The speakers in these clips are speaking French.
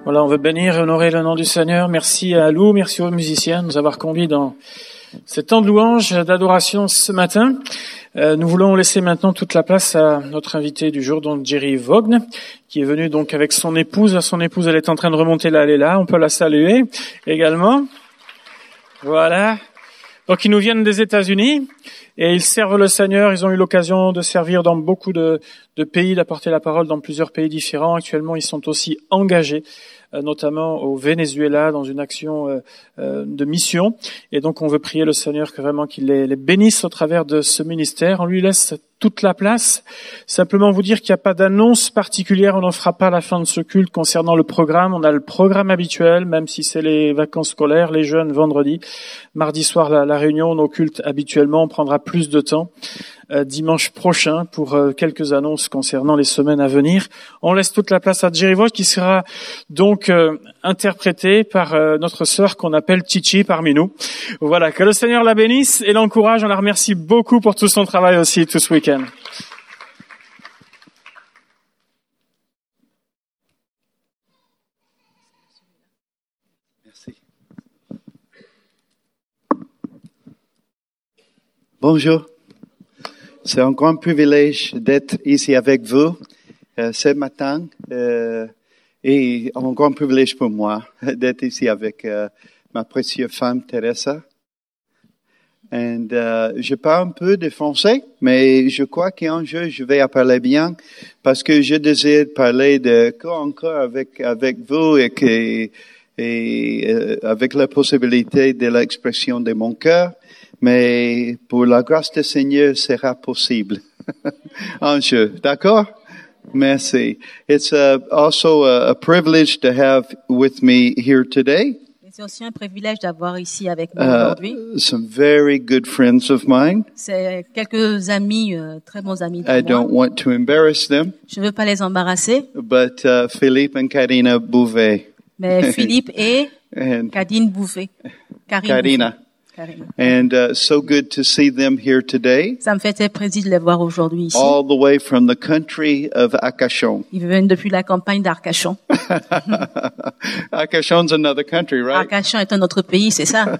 Voilà, on veut bénir et honorer le nom du Seigneur. Merci à Lou, merci aux musiciens de nous avoir conduits dans cet temps de louange, d'adoration ce matin. Nous voulons laisser maintenant toute la place à notre invité du jour, donc Jerry Vaughn, qui est venu donc avec son épouse. Son épouse, elle est en train de remonter là, elle est là. On peut la saluer également. Voilà. Donc, ils nous viennent des États-Unis et ils servent le Seigneur. Ils ont eu l'occasion de servir dans beaucoup de pays, d'apporter la parole dans plusieurs pays différents. Actuellement, ils sont aussi engagés, notamment au Venezuela, dans une action de mission. Et donc, on veut prier le Seigneur que vraiment qu'il les bénisse au travers de ce ministère. On lui laisse toute la place. Simplement vous dire qu'il n'y a pas d'annonce particulière. On n'en fera pas à la fin de ce culte concernant le programme. On a le programme habituel, même si c'est les vacances scolaires, les jeunes vendredi. Mardi soir, la réunion, nos cultes habituellement. On prendra plus de temps dimanche prochain pour quelques annonces concernant les semaines à venir. On laisse toute la place à Jerry Vaughn qui sera donc interprété par notre sœur qu'on appelle Chichi parmi nous. Voilà, que le Seigneur la bénisse et l'encourage. On la remercie beaucoup pour tout son travail aussi tout ce week-end. Merci. Bonjour. C'est un grand privilège d'être ici avec vous ce matin et un grand privilège pour moi d'être ici avec ma précieuse femme Teresa. Et je parle un peu de français, mais je crois qu'un jour je vais parler bien parce que je désire parler de encore avec vous et avec la possibilité de l'expression de mon cœur. Mais pour la grâce du Seigneur, sera possible. Un jour, d'accord? Merci. It's also a privilege to have with me here today. C'est aussi un privilège d'avoir ici avec nous aujourd'hui. Some very good friends of mine. C'est quelques amis, très bons amis de I moi. don't want to embarrass them. Je ne veux pas les embarrasser. But Philippe and Karina Bouvet. Mais Philippe et And Kadine Bouvet. Karina. And so good to see them here today. Ça me fait très plaisir de les voir aujourd'hui ici. All the way from the country of Arcachon. Ils viennent depuis la campagne d'Arcachon. Arcachon's another country, right? Arcachon est un autre pays, c'est ça.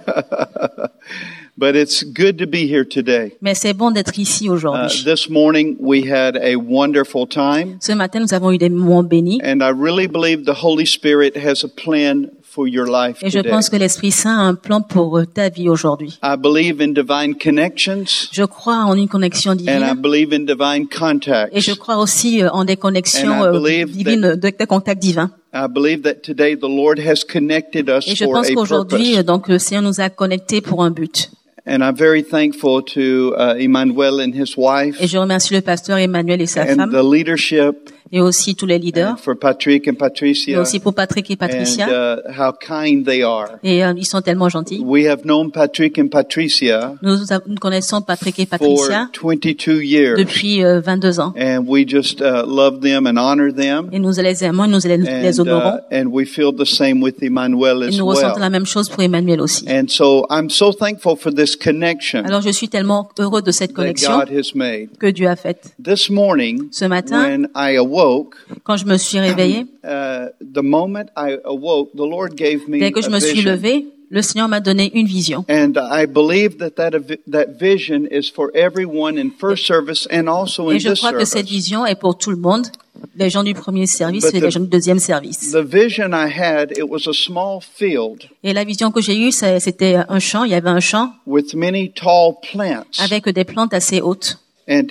But it's good to be here today. Mais c'est bon d'être ici aujourd'hui. This morning we had a wonderful time. Ce matin, nous avons eu des moments bénis. And I really believe the Holy Spirit has a plan for your life Et je today. pense que l'Esprit Saint a un plan pour ta vie aujourd'hui. I believe in divine connections. Je crois en une connexion And I divine. believe in divine contacts. Et je crois aussi en des connexions And I believe divines, des contacts divins. I believe that today the Lord has connected us Et je for pense a qu'aujourd'hui, purpose. donc, le Seigneur nous a connectés pour un but. And I'm very thankful to Emmanuel and his wife Et je remercie le pasteur Emmanuel et sa and femme, the leadership, et aussi tous les leaders, and for Patrick and et Patricia, aussi pour Patrick et Patricia. and how kind they are. Et ils sont tellement gentils. We have known Patrick and Patricia Nous connaissons Patrick et for Patricia 22 years, depuis 22 ans. and we just love them and honor them, Et nous les aimons, nous les honorons. and we feel the same with Emmanuel Et as nous ressentons well. la même chose pour Emmanuel aussi. And so I'm so thankful for this connection Alors je suis tellement heureux de cette that connexion God has made. que Dieu a faite. This morning, Ce matin, when I awoke, quand je me suis réveillée, the moment I awoke, the Lord gave me dès que je a me suis vision. levée, le Seigneur m'a donné une vision. And I believe that vision is for everyone in first service and also in Et je this crois que cette service. vision est pour tout le monde, les gens du premier service But et les gens du deuxième service. The vision I had, it was a small field Et la vision que j'ai eue, c'était un champ, il y avait un champ with many tall plants. avec des plantes assez hautes. And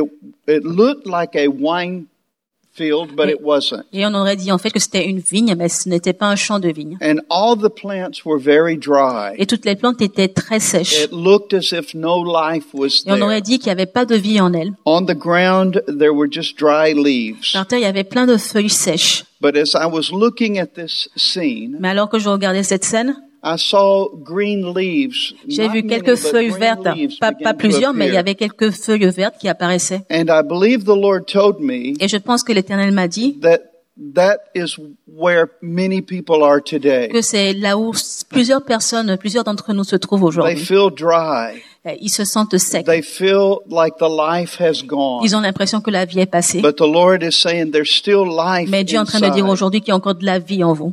it looked like a wine field, but it wasn't. Et on aurait dit en fait que c'était une vigne, mais ce n'était pas un champ de vigne. And all the plants were very dry. Et toutes les plantes étaient très sèches. It looked as if no life was Et on there. aurait dit qu'il n'y avait pas de vie en elles. On the ground, there were just dry leaves. Par terre, il y avait plein de feuilles sèches. But as I was looking at this scene, Mais alors que je regardais cette scène, I saw green leaves. j'ai Not vu many, quelques but feuilles green vertes. leaves Pas began to plusieurs, mais il y appear. avait quelques feuilles vertes qui apparaissaient. And I believe the Lord told me Et je pense que l'Éternel m'a dit that is where many people are today. que c'est là où plusieurs d'entre nous se trouvent They aujourd'hui. feel dry. Ils se sentent secs. They feel like the life has gone. Ils ont l'impression que la vie est passée. But the Lord is saying there's still life Mais Dieu est en train de dire inside. aujourd'hui qu'il y a encore de la vie en vous.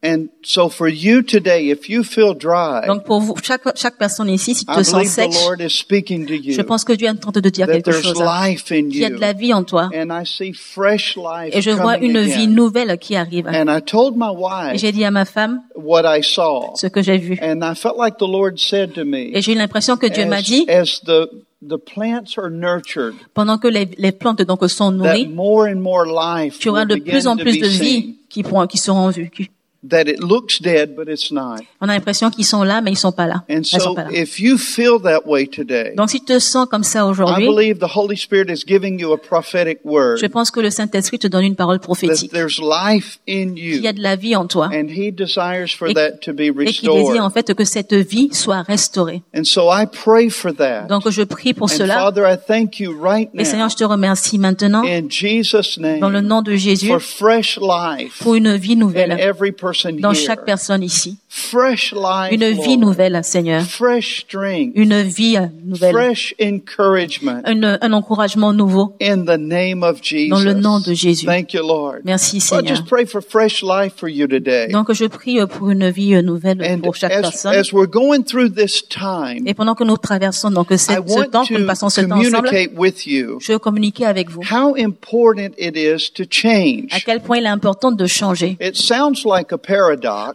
And so for you today, if you feel dry, Donc pour vous, chaque personne ici, si tu te I sens believe sèche, the Lord is speaking to je you, pense que Dieu est en train de te dire that quelque there's chose. life in Il y a de you. la vie en toi. And I see fresh life Et je vois coming une vie again. nouvelle qui arrive. And I told my Et wife j'ai dit à ma femme what I saw. ce que j'ai vu. And I felt like the Lord said to me, Et j'ai eu l'impression que Dieu m'a dit, as the plants are nurtured, pendant que les plantes donc sont that nourries, more and more life tu auras will de begin plus en to plus be de seen. vie qui seront vues. That it looks dead, but it's not. On a l'impression qu'ils sont là, mais ils sont pas là. And Elles sont so pas là. if you feel that way today, Donc si tu te sens comme ça I aujourd'hui, believe the Holy Spirit is giving you a prophetic word. je pense que le Saint-Esprit te donne une parole That prophétique. there's life in Il y a you. de la vie en toi. And He desires for Et- that to be Et qui désire en restored. fait que cette vie soit restaurée. And so I pray for that. Donc je prie pour And cela. Father, I thank you right Et Seigneur, now je te remercie maintenant, in Jesus' dans le name nom de Jésus, for fresh life pour une vie in nouvelle every person dans chaque here. personne ici. Fresh life, Une vie Lord. nouvelle, Seigneur. Fresh strength. Une vie nouvelle. Fresh encouragement Un encouragement nouveau in the name of Jesus. dans le nom de Jésus. Thank you, Lord. Merci, I Seigneur. just pray for fresh life for you today. Donc je prie pour une vie nouvelle And pour chaque personne. as we're going through this time, Et pendant que nous traversons donc I ce want temps, que nous to passons ce temps ensemble, communicate with you je veux communiquer avec vous how important it is to à change. quel point il est important de changer. It sounds like a paradox,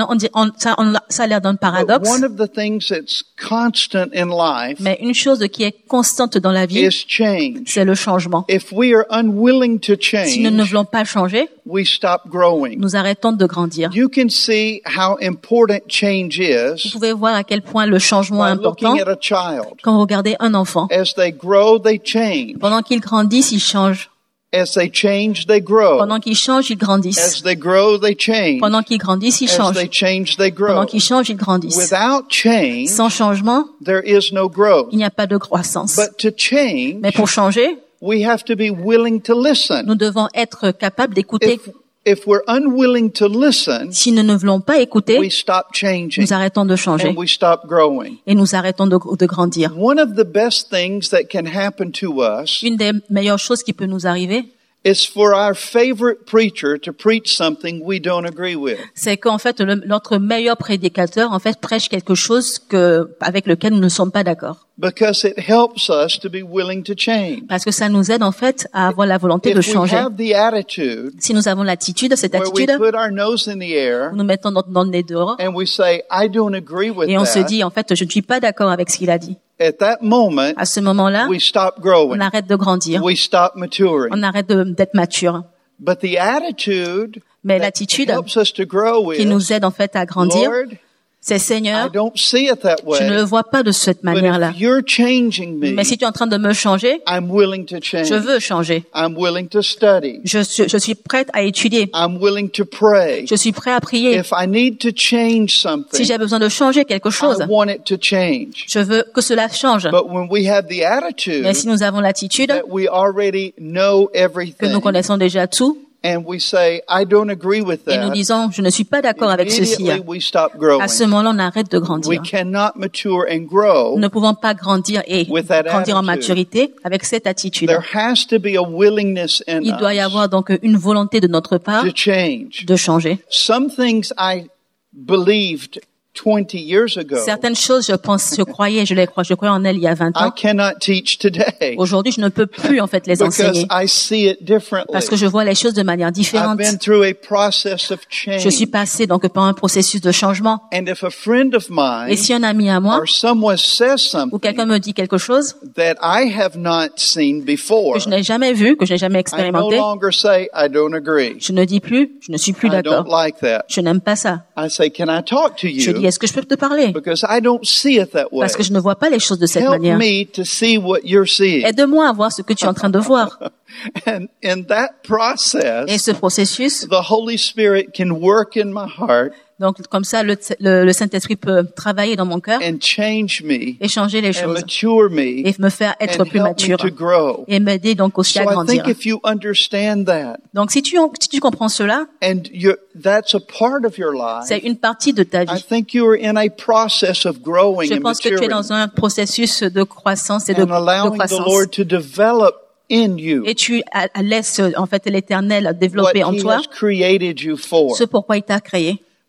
Ça a l'air d'un but paradoxe, one of the things that's constant in life mais une chose qui est constante dans la vie, is change. c'est le changement. If we are unwilling to Si nous ne change, voulons pas changer, we stop growing. nous arrêtons de grandir. You can see how important change Vous is pouvez voir à quel point le changement est by looking important at a child. quand vous regardez un enfant. As they grow, they change. Pendant qu'ils grandissent, ils changent. As they change, they grow. Pendant qu'ils changent, ils grandissent. As they grow, they change. Pendant qu'ils grandissent, ils As changent. they change, they Pendant grow. qu'ils changent, ils grandissent. Without change, Sans changement, there is no growth. il n'y a pas de croissance. But to change, Mais pour changer, we have to be willing to listen. nous devons être capables d'écouter. If we're unwilling to listen, Si nous ne voulons pas écouter, we stop changing nous arrêtons de changer and we stop growing. et nous arrêtons de grandir. One of the best things that can happen to us Une des meilleures choses qui peut nous arriver, is for our favorite preacher to preach something we don't agree with. c'est qu'en fait, notre meilleur prédicateur, en fait, prêche quelque chose avec lequel nous ne sommes pas d'accord. Because it helps us to be willing to change. Parce que ça nous aide, en fait, à avoir la volonté de If we changer. have the attitude Si nous avons l'attitude, cette where we attitude, put our nose in the air nous mettons notre nez dehors and we say, I don't agree with et on se that, dit, en fait, je ne suis pas d'accord avec ce qu'il a dit. at that moment, À ce moment-là, we stop on growing. arrête de grandir. We stop maturing. On arrête d'être mature. But the attitude Mais that l'attitude helps us to grow qui is, nous aide, en fait, à grandir, Lord, c'est I Seigneur, don't see it that je ne le way, vois pas de cette but manière-là. if you're changing me, Mais si tu es en train de me changer, I'm willing to change. je veux changer. I'm willing to study. Je suis prête à étudier. I'm willing to pray. Je suis prêt à prier. If I need to change Si something, j'ai besoin de changer quelque chose, I want it to change. je veux que cela change. But when we have the attitude Mais si nous avons l'attitude that we already know que everything, nous connaissons déjà tout, and we say, I don't agree with et nous that, disons, je ne suis pas d'accord avec ceci, immediately we stop growing. à ce moment-là, on arrête de We grandir. cannot mature and grow. Nous ne pouvons pas grandir et With that grandir en attitude. maturité avec cette attitude. There has to be a willingness in Il doit y us avoir donc une volonté de notre part to change. de changer. Some things I believed 20 years ago, Certaines choses, je croyais en elles il y a 20 I ans. cannot teach today Aujourd'hui, je ne peux plus en fait les because enseigner I see it differently. parce que je vois les choses de manière I've différente. been through a process of Je suis change. passée donc par un processus de changement. And if a friend of Et mine si un ami à moi or someone says ou something quelqu'un me dit quelque chose that I have not seen before, que je n'ai jamais vu, que je n'ai jamais I no expérimenté, longer say I don't agree. je ne dis plus, je ne suis plus I don't d'accord. like that. Je n'aime pas ça. I say, can I talk to Je dis, you? est-ce que je peux te parler? Because I don't see it that way. Parce que je ne vois pas les choses de cette Help manière. me to see what you're seeing. Aide-moi à voir ce que tu es en train de voir. And in that Et process, ce processus, the Holy Spirit can work in my heart donc comme ça, le Saint-Esprit peut travailler dans mon cœur and change me et changer les and choses mature me et me faire être and plus help me mature to grow. et m'aider donc aussi So à I grandir. think if you understand that Donc si tu comprends cela, and that's a part of your c'est life, une partie de ta I vie. think you are in a process of growing Je and pense que tu es maturing dans un processus de croissance et de and allowing the croissance. Lord to develop in you Et tu laisses en fait l'Éternel what développer en He toi has created you for. ce pourquoi il t'a créé.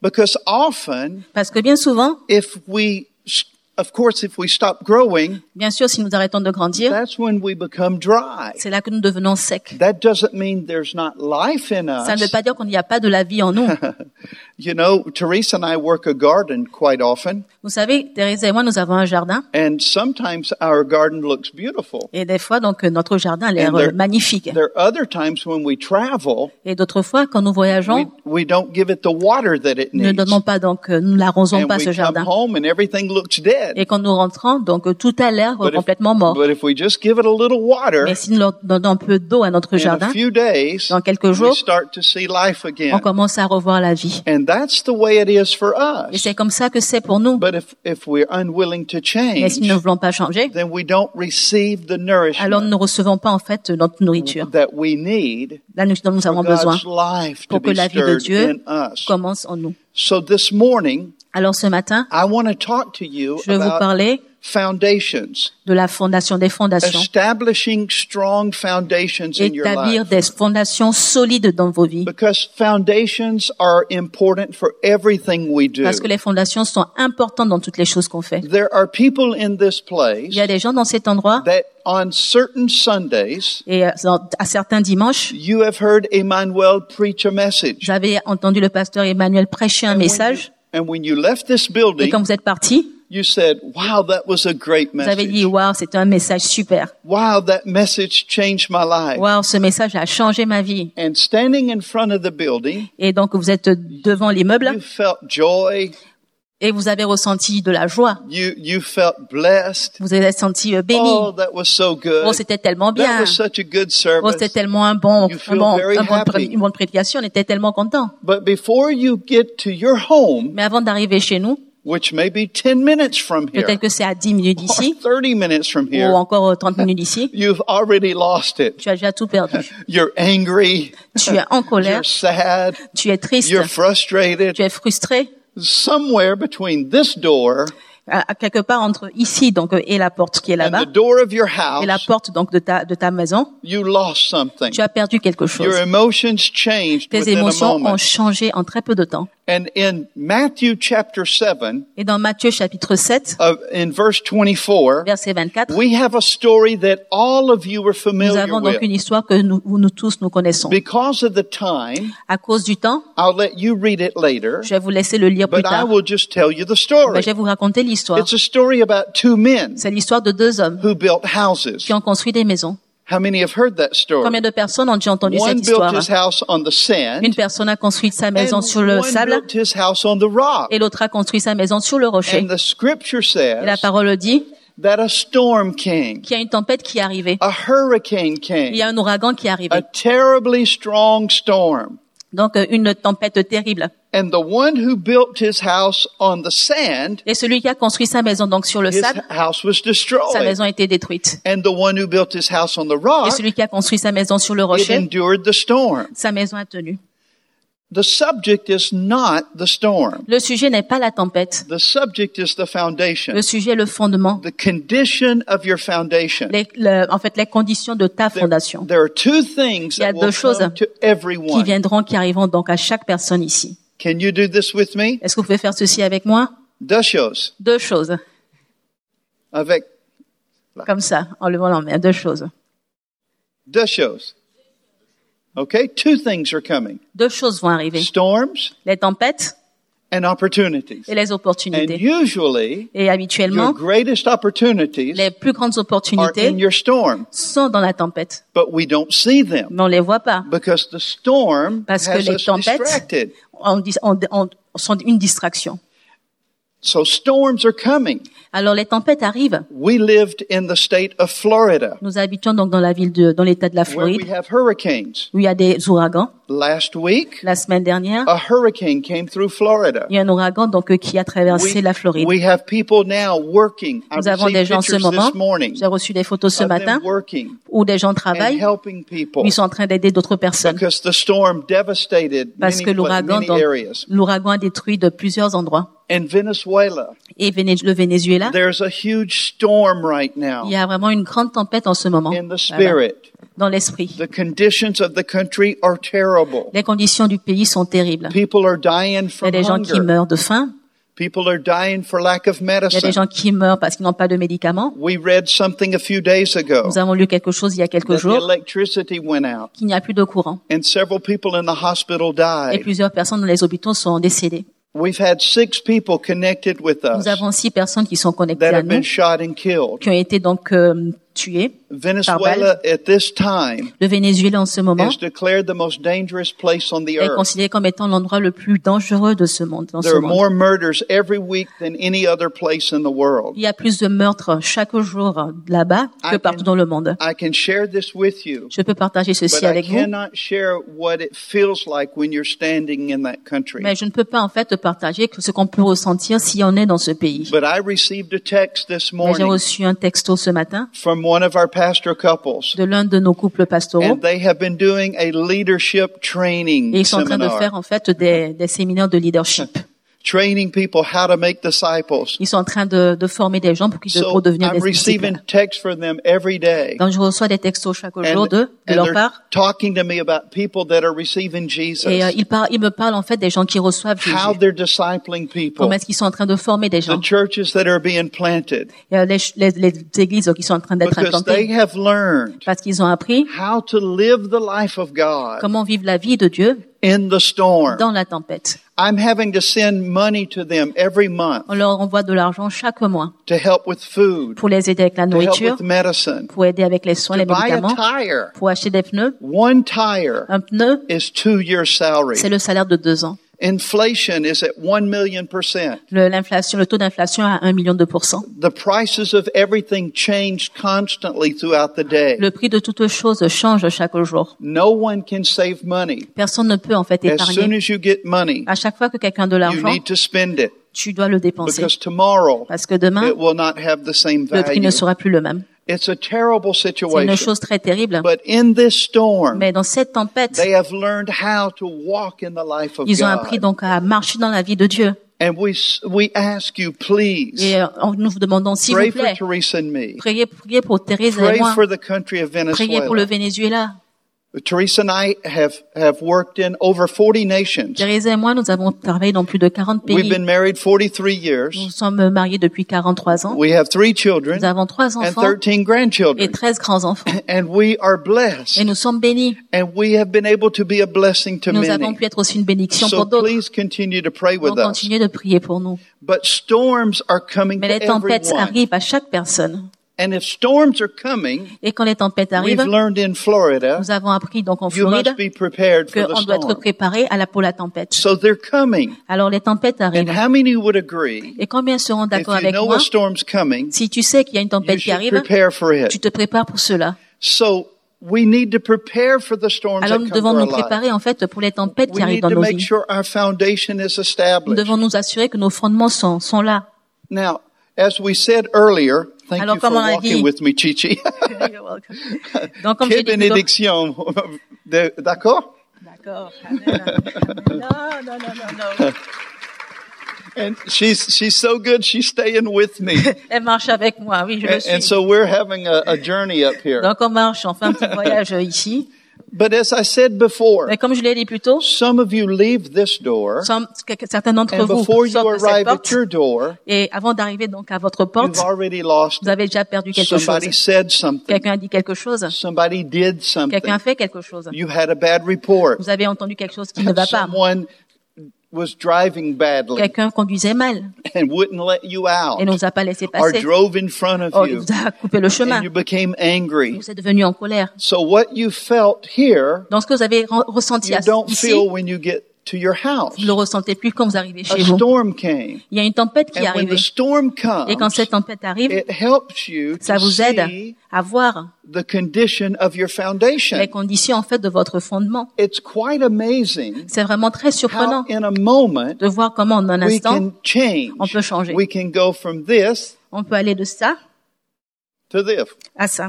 Because often, Parce que bien souvent, if we stop growing, bien sûr, si nous arrêtons de grandir, that's when we become dry. c'est là que nous devenons secs. That doesn't mean there's not life in Ça ne veut us. pas dire qu'il n'y a pas de la vie en nous. You know, Teresa and I work a garden quite often, Vous savez, Thérèse et moi, nous avons un jardin. and sometimes our garden looks beautiful. Et des fois, donc, notre jardin a l'air And there- magnifique. There are other times when we travel, Et d'autres fois, quand nous voyageons, we don't give it the water that it nous ne needs. donnons pas, donc, nous n'arrosons And pas we ce come jardin. home and everything looks dead. Et quand nous rentrons, donc, tout a l'air complètement mort. But if we just give it a little water, Mais si nous leur donnons un peu d'eau à notre in a jardin, few days, dans quelques we jours, start to see life on again. commence à revoir la vie. And that's the way it is for Et us. c'est comme ça que c'est pour nous. But if we're unwilling to Mais si nous ne change, voulons pas changer, then we don't receive the alors nous nourishment ne recevons pas, en fait, notre nourriture. that we need Là, dont nous for avons besoin God's life to pour que be la vie de stirred Dieu in us. commence en nous. So this morning, Alors ce matin, I want to talk to you je vais vous about parler foundations, de la fondation des fondations. establishing strong foundations in your Établir life. des fondations solides dans vos vies. Because foundations are important for everything we do. Parce que les fondations sont importantes dans toutes les choses qu'on fait. There are people in this place Il y a des gens dans cet endroit, that on certain Sundays, et à certains dimanches, you have heard Emmanuel preach a message. vous avez entendu le pasteur Emmanuel prêcher un message, And when you left this et building, quand vous êtes parti, you said, wow, that was a great vous avez dit, message. waouh, c'était un message super. Wow, that message changed my life. Waouh, ce message a changé ma vie. And standing in front of the building, Et donc vous êtes devant l'immeuble you felt joy. et vous avez ressenti de la joie. You felt blessed. Vous avez senti béni. Oh, that was so good. Oh, c'était tellement That bien. was such a good Oh, c'était service. tellement une bonne prédication. On était tellement contents. But before you get to your home, Mais avant d'arriver chez nous, which may be 10 minutes from here, peut-être que c'est à 10 minutes or d'ici, 30 minutes from ou here, encore 30 minutes d'ici, you've already lost it. tu as déjà tout perdu. You're angry. Tu es en colère, You're sad. tu es triste, You're frustrated. tu es frustré. Somewhere between this door À quelque part entre ici donc et la porte qui est and là-bas the door of your et la house, porte donc de ta maison, you lost something. tu as perdu quelque chose. Your emotions changed Tes within a émotions ont moment. changé en très peu de temps. And in Matthew chapter 7, Et dans Matthieu chapitre 7, in verse 24, verset 24, we have a story that all of you are nous familiar avons donc with. une histoire que nous tous nous connaissons. Because of the time, À cause du temps, I'll let you read it later, je vais vous laisser le lire plus but I tard. will just tell you the Mais story. je vais vous raconter l'histoire. It's a story about two men C'est l'histoire de deux hommes who built houses. qui ont construit des maisons. How many have heard that story? Combien de personnes ont déjà entendu One cette built histoire? his house on the sand, Une personne a construit sa maison and sur le one sable built his house on the rock. et l'autre a construit sa maison sur le rocher. And the scripture Et la says parole dit that a storm came, qu'il y a une tempête qui est arrivée. a hurricane Il y a came, un ouragan qui est a arrivé. terribly strong storm. Donc une tempête terrible. And the one who built his house on the sand, Et celui qui a construit sa maison donc sur le his sable, house was sa destroyed. maison a été détruite. And the one who built his house on the Et rock, celui qui a construit sa maison sur le it rocher, endured the storm. sa maison a tenu. The subject is not the storm. Le sujet n'est pas la tempête. The subject is the foundation. Le sujet est le fondement. The condition of your foundation. En fait, les conditions de ta fondation There are two things Il y a that deux will choses come to qui everyone. viendront, qui arriveront donc à chaque personne ici. Can you do this with me? Est-ce que vous pouvez faire ceci avec moi? Deux choses. Deux choses. Avec Comme ça, en levant la main. Deux choses. deux choses. Okay? Two things are coming. Deux choses vont arriver. Storms Les tempêtes and opportunities. et les And opportunités. usually, Et your habituellement, greatest opportunities les plus grandes are opportunités in your storm, sont dans la tempête. but we don't see them Mais on les voit pas. because the storm Parce que has les us tempêtes distracted. Sont une distraction. So storms are coming. Alors les tempêtes arrivent. We lived in the state of Florida, Nous habitons donc dans dans l'état de la where we Floride, have hurricanes. où il y a des ouragans. Last week, La semaine dernière, a hurricane came through Florida. il y a un ouragan donc qui a traversé la Floride. We have people now working. I Nous avons received des gens en ce pictures moment. this morning J'ai reçu des photos ce of them matin working où des gens and travaillent, helping people où ils sont en train d'aider d'autres personnes. because the storm devastated Parce que many l'ouragan areas. a détruit de plusieurs endroits. In Venezuela, et le Venezuela, there's a huge storm right now il y a vraiment une grande tempête en ce moment, in the là-bas, spirit. dans l'esprit. The conditions of the country are terrible. Les conditions du pays sont terribles. People are dying Il y a from des gens qui hunger. meurent de faim. People are dying for lack of Il y a des medicine. gens qui meurent parce qu'ils n'ont pas de médicaments. We read something a few days ago Nous avons lu quelque chose il y a quelques that the jours, electricity went out qu'il n'y a plus de courant. and several people in the hospital Et died. plusieurs personnes dans les hôpitaux sont décédées. We've had 6 people connected with Nous us avons 6 personnes qui sont connectées that à have been nous, shot and killed. qui ont été donc tuées. Venezuela at this time Le Venezuela en ce moment is declared the most dangerous place on the est earth. considéré comme étant l'endroit le plus dangereux de ce monde. Dans ce There are monde. more murders every week than any other place in the world. Il y a plus de meurtres chaque jour là-bas que partout dans le monde. I can share this with you, Je peux partager but ceci I avec vous, cannot share what it feels like when you're standing in that country. mais je ne peux pas en fait partager ce qu'on peut ressentir si on est dans ce pays. But I received a text this Mais j'ai morning reçu un texto ce matin from one of our pastor couples, de l'un de nos couples pastoraux, and they have been doing a leadership training et ils sont en train de faire seminar, en fait des séminaires de leadership. training people how to make disciples. Ils sont en train de former des gens So pour devenir I'm des receiving disciples. texts from them every day. Donc je reçois des textos chaque jour And, de and leur they're part. talking to me about people that are receiving Jesus, Et ils me parlent en fait des gens qui reçoivent how Jésus. they're discipling people, Comment est-ce qu'ils sont en train de former des gens? the churches that are being planted, Il y a les églises qui sont en train d'être because they implantées have learned parce qu'ils ont appris how to live the life of God comment vivre la vie de Dieu in the storm. dans la tempête. I'm having to send money to them every month On leur envoie de l'argent chaque mois to help with food, pour les aider avec la to help nourriture, with medicine, pour aider avec les soins, to les buy a médicaments, tire. pour acheter des pneus. One tire Un pneu, is 2 years' salary. c'est le salaire de 2 ans. Inflation is at 1,000,000%. Le taux d'inflation à 1 million de %. The prices of everything change constantly throughout the day. Le prix de toutes choses change chaque jour. No one can save money. Personne ne peut en fait As soon épargner. as you get money, À chaque fois que quelqu'un a de you l'argent, need to spend it, tu dois le dépenser. because tomorrow Parce que demain, it will not have the same le prix value. ne sera plus le même. It's a terrible C'est une situation. chose très terrible. But in this storm, Mais dans cette tempête, they have learned how to walk in the life of ils ont appris God. donc à marcher dans la vie de Dieu. And we ask you, please, Et nous vous demandons, s'il pray vous for plaît, Teresa and me. priez pour Thérèse et Pray moi. for the country of Priez pour le Venezuela. Venezuela. Teresa and I have worked in over 40 nations. Thérèse et moi, nous avons travaillé dans plus de 40 We've pays. been married 43 Nous years. sommes mariés depuis 43 ans. We have 3 children Nous avons 3 and enfants 13 et grandchildren. 13 grands-enfants. And we are Et blessed. nous sommes bénis. And we have been able to be a blessing to Nous avons many. pu être aussi une bénédiction So pour d'autres. please continue to pray with Donc us. continuez de prier pour nous. But storms are coming Mais to les tempêtes everyone. arrivent à chaque personne. And if storms are coming, Et quand les tempêtes we've arrivent, learned in Florida, nous avons appris donc en you Floride must be prepared for the qu'on doit être storm. préparé pour la tempête. So they're coming. Alors les tempêtes And arrivent. how many would agree, Et combien seront if d'accord you avec know moi? a storm's coming, Si tu sais qu'il y a une you tempête qui should arrive, prepare for tu it. te prépares pour cela. So we need to prepare for the storms Alors that nous come devons to nous our life. préparer en fait pour les tempêtes qui We arrivent need dans to nos make vies. sure our foundation is Nous established. devons nous assurer que nos fondements sont là. Now, as we said earlier, thank Alors, you for comme on a walking dit- with me, Chichi. Donc comme je Quelle dis, bénédiction. D'accord? D'accord. Non. And she's so good, she's staying with me. Elle marche avec moi, oui, je le And suis. so we're having a journey up here. Donc on marche, on fait un petit voyage ici. But as I said before, Mais comme je l'ai dit plus tôt, some of you leave this door, certains d'entre and vous before you sortent de cette arrive at porte, your door, et avant d'arriver donc à votre porte, you've already lost vous avez déjà perdu quelque Somebody chose. said something. Quelqu'un a dit quelque chose. Somebody did something. Quelqu'un a fait quelque chose. You had a bad report. Vous avez entendu quelque chose qui ne va pas. Someone was driving badly Quelqu'un conduisait mal and wouldn't let you out et ne vous a pas laissé or passer. drove in front of Oh, il you vous a coupé le chemin. and you became angry. Vous êtes devenu en colère. So what you felt here, Donc ce que vous avez ressenti you don't ici, feel when you get to your house. vous ne le ressentez plus quand vous arrivez A chez vous. storm came. Il y a une tempête qui est And when arrivée. the storm Et quand comes, cette tempête arrive, it helps you ça to vous aide see à voir the condition of your les foundation. conditions en fait de votre fondement. It's quite amazing C'est vraiment très how surprenant in a moment de voir comment en un we instant, can change. on peut changer. We can go from this On peut aller de ça to this. à ça.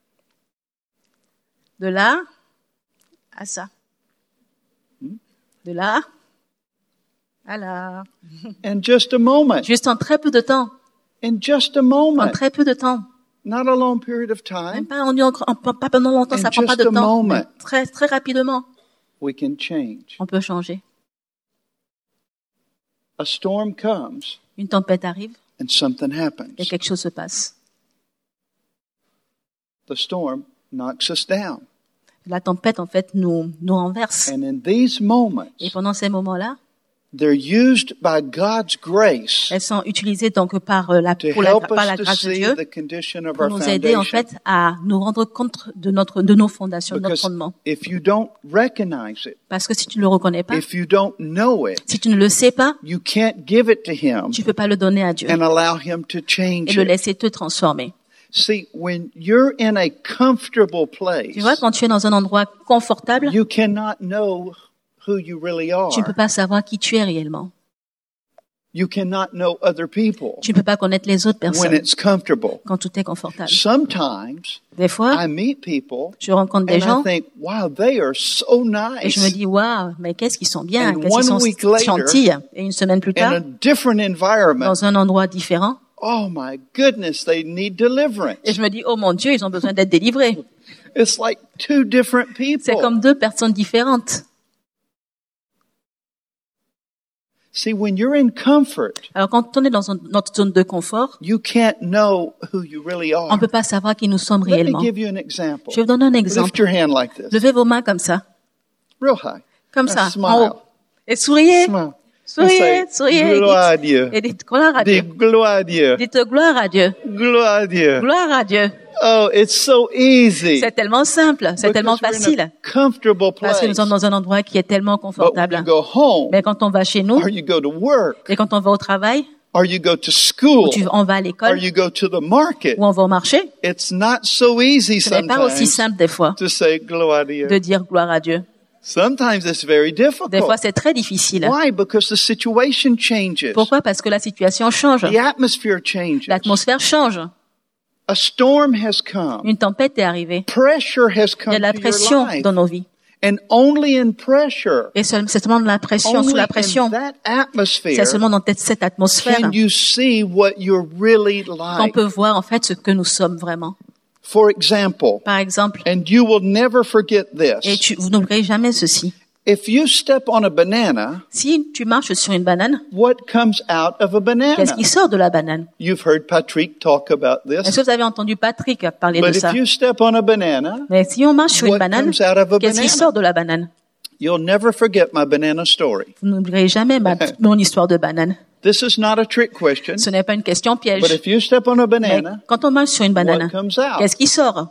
De là à ça. De là Alors, In just a moment. juste en très peu de temps. In just a En moment. très peu de temps. Not a long period of Même time. pas pendant longtemps, ça In prend pas de just a temps. moment. Mais très, très rapidement, We can change. on peut changer. A storm comes Une tempête arrive and something et happens. quelque chose se passe. The storm knocks us down. La tempête, en fait, nous renverse. And in these moments, Et pendant ces moments-là, they're used by God's grace elles sont utilisées donc par la to grâce help de us Dieu to see the condition of pour our nous aider, en foundation. fait, à nous rendre compte de nos fondations, de notre Because fondement. if you don't recognize it, Parce que si tu ne le reconnais pas, if you don't know it, si tu ne le sais pas, you can't give it to Him tu peux pas le donner à Dieu and allow Him to et change le it. laisser te transformer. See, when you're in a comfortable place, Tu vois, quand tu es dans un endroit confortable, you cannot know who you really tu ne peux are. pas savoir qui tu es réellement. You cannot know other people Tu ne peux pas connaître les autres when personnes it's comfortable. quand tout est confortable. Sometimes Des fois, I meet people je rencontre des and I gens think, wow, they are so et je me nice. dis, waouh, mais qu'est-ce qu'ils sont bien, And qu'est-ce qu'ils one sont week later, gentils. Et une semaine plus In tard, a different environment, dans un endroit différent, oh my goodness, they need deliverance. et je me dis, oh mon Dieu, ils ont besoin d'être délivrés. It's like two different C'est people. comme deux personnes différentes. See, when you're in comfort, Alors quand on est dans notre zone de confort, you can't know who you really on ne are. peut pas savoir qui nous sommes Let me réellement. give you an example. Je vais vous donner un Lift exemple. your hand like this, Levez vos mains comme ça, real high. comme And ça, en smile. haut. Et souriez, Smile. And souriez, say, souriez. gloire à Dieu. Et dites gloire à Dieu. Dis gloire à Dieu. Dites gloire à Dieu. Gloire à Dieu. Gloire à Dieu. Oh, it's so easy. C'est tellement simple, c'est tellement Because we're in facile. a comfortable Parce que nous place. sommes dans un endroit qui est tellement But when confortable. you go home, Mais quand on va chez nous, or you go to work, et quand on va au travail, or you go to school, on va à or l'école, you go to the market, ou on va au marché, it's not so easy ce n'est pas aussi sometimes simple des fois to say gloire à Dieu. de dire gloire à Dieu. Sometimes it's very Des fois, difficult. c'est très difficile. Why? Because the situation changes. Pourquoi? Parce que la situation change. The atmosphere changes. L'atmosphère change. A storm has come. Une tempête est arrivée. Pressure has Il y a come de la to your pression life. dans nos vies. And only in pressure, Et c'est seulement de la pression, only sous la in pression. that atmosphere, C'est seulement dans cette atmosphère can you see what you're really qu'on like. peut voir en fait ce que nous sommes vraiment. For example, Par exemple, and you will never forget et this, vous n'oublierez jamais ceci. if you step on a banana, Si tu marches sur une banane, what comes out of a banana? qu'est-ce qui sort de la banane? You've heard Patrick talk about Est-ce this. que vous avez entendu Patrick parler de But ça? if you step on a banana, Mais si on marche sur une what banane, comes out of a qu'est-ce qui banana? sort de la banane? You'll never forget my banana story. Vous n'oublierez jamais mon histoire de banane. This is not a trick question, Ce n'est pas une question piège. but if you step on a Mais banana, quand on marche sur une banane, what comes out? qu'est-ce qui sort?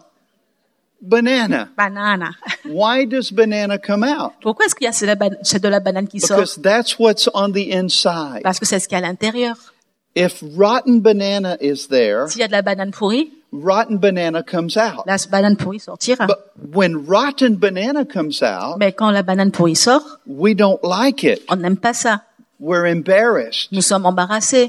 Banana. Banane. Why does banana come out? Pourquoi est-ce qu'il y a c'est de la banane qui sort? Because that's what's on the inside. Parce que c'est ce qu'il y a à l'intérieur. If rotten banana is there, S'il y a de la banane pourrie, rotten banana comes out. la banane pourrie sortira. But when rotten banana comes out, Mais quand la banane pourrie sort, we don't like it. on n'aime pas ça. We're embarrassed. Nous sommes embarrassés.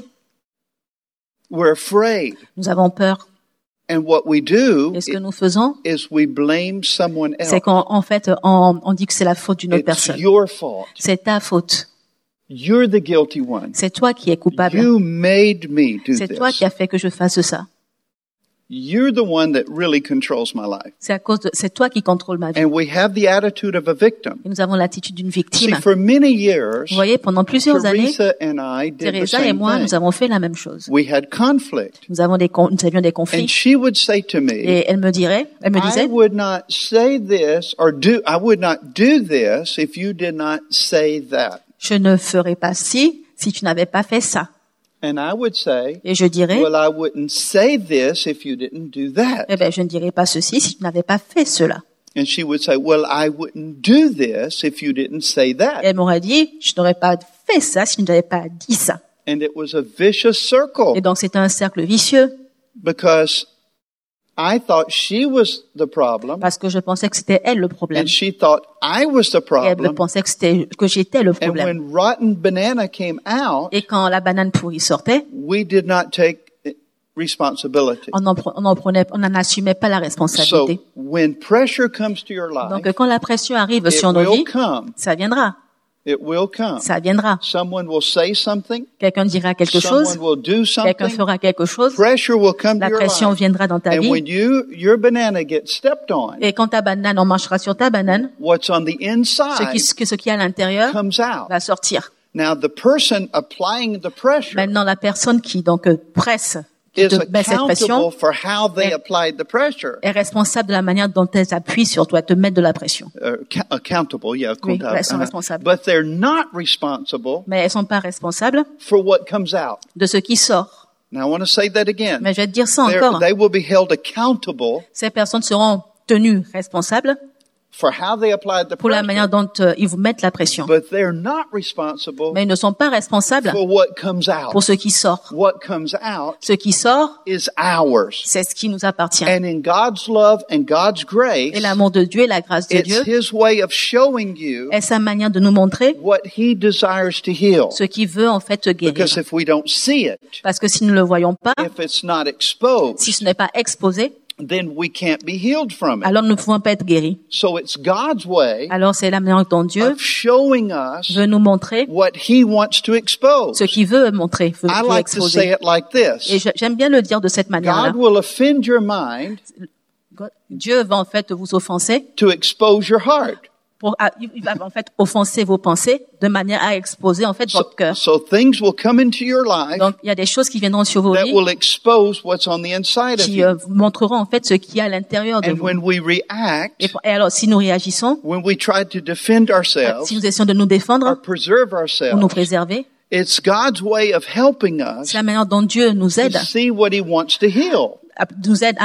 We're afraid. Nous avons peur. And what we do Et ce que nous faisons, is we blame someone else. c'est qu'en fait, on dit que c'est la faute d'une autre It's personne. your fault. C'est ta faute. You're the guilty one. C'est toi qui es coupable. You made me do C'est toi this. qui as fait que je fasse ça. You're the one that really controls my life. C'est toi qui contrôle ma vie. And we have the attitude of a victim. Et nous avons l'attitude d'une See, victime. for many years, Vous voyez, pendant plusieurs années, Teresa and I did the Teresa et same moi, thing. nous avons fait la même chose. We had conflict. Nous avions des conflits. And she would say to me, Et elle me I disait, would not say this or I would not do this if you did not say that. je ne ferai pas si tu n'avais pas fait ça. And I would say, Et je dirais, well, I wouldn't say this if you didn't do that. eh ben, je ne dirais pas ceci si tu n'avais pas fait cela. And she would say, well, I wouldn't do this if you didn't say Et that. elle m'aurait dit, je n'aurais pas fait ça si tu n'avais pas dit ça. And it was a vicious circle Et donc c'est un cercle vicieux because I thought she was the problem parce que je pensais que c'était elle le problème. and she thought I was the Et elle problem. pensait que j'étais le And problème. when rotten banana came out, Et quand la banane pourrie sortait, we did not take responsibility. on n'en assumait pas la responsabilité. So when pressure comes to your life, Donc quand la pression arrive it sur nos will vies, come. ça viendra. It will come. Ça viendra. Someone will say something. Quelqu'un dira quelque chose. Someone will do Quelqu'un something. fera quelque chose. Pressure will come to La your pression life. viendra dans ta And vie. when your banana gets stepped on, Et quand ta banane, on marchera sur ta banane, what's on the inside ce qui est à l'intérieur comes out. va sortir. Now, the person applying the pressure Maintenant, la personne qui donc presse, qui is te met cette pression, accountable for how they est- applied the pressure. est responsable de la manière dont elles appuient sur toi, te mettent de la pression. Accountable, yeah. Oui, comptable. elles sont responsables. But they're not responsible Mais elles sont pas responsables for what comes out. de ce qui sort. Now, I want to say that again. Mais je vais te dire ça encore. They will be held accountable Ces personnes seront tenues responsables for how they applied the pour la pressure, manière dont ils vous mettent la pression. but they're not responsible Mais ils ne sont pas responsables for what comes out. pour ce qui sort. What comes out Ce qui sort, is ours. c'est ce qui nous appartient. And in God's love and God's grace, Et l'amour de Dieu et la grâce de it's Dieu His way of showing you est sa manière de nous montrer what He desires to heal. ce qu'il veut en fait guérir. Because if we don't see it, Parce que si nous ne le voyons pas, if it's not exposed, si ce n'est pas exposé, then we can't be healed from it. alors nous ne pouvons pas être guéris. So it's God's way Alors c'est la manière dont Dieu of showing us veut nous montrer what He wants to expose. ce qu'il veut montrer, veut I like to say exposer. it like Et this. j'aime bien le dire de cette manière-là. God will offend your mind Dieu va en fait vous offenser, to expose your heart. il va en fait offenser vos pensées de manière à exposer en fait votre cœur. So things will come into your life Donc il y a des choses qui viendront sur vos that vies will expose what's on the inside of qui you. vous montreront en fait ce qu'il y a à l'intérieur de And vous. when we react, Et alors si nous réagissons, when we try to defend ourselves si nous essayons de nous or défendre preserve ou nous ourselves, préserver, it's God's way of helping us c'est la manière dont Dieu nous to aide, see what He wants to heal. nous aide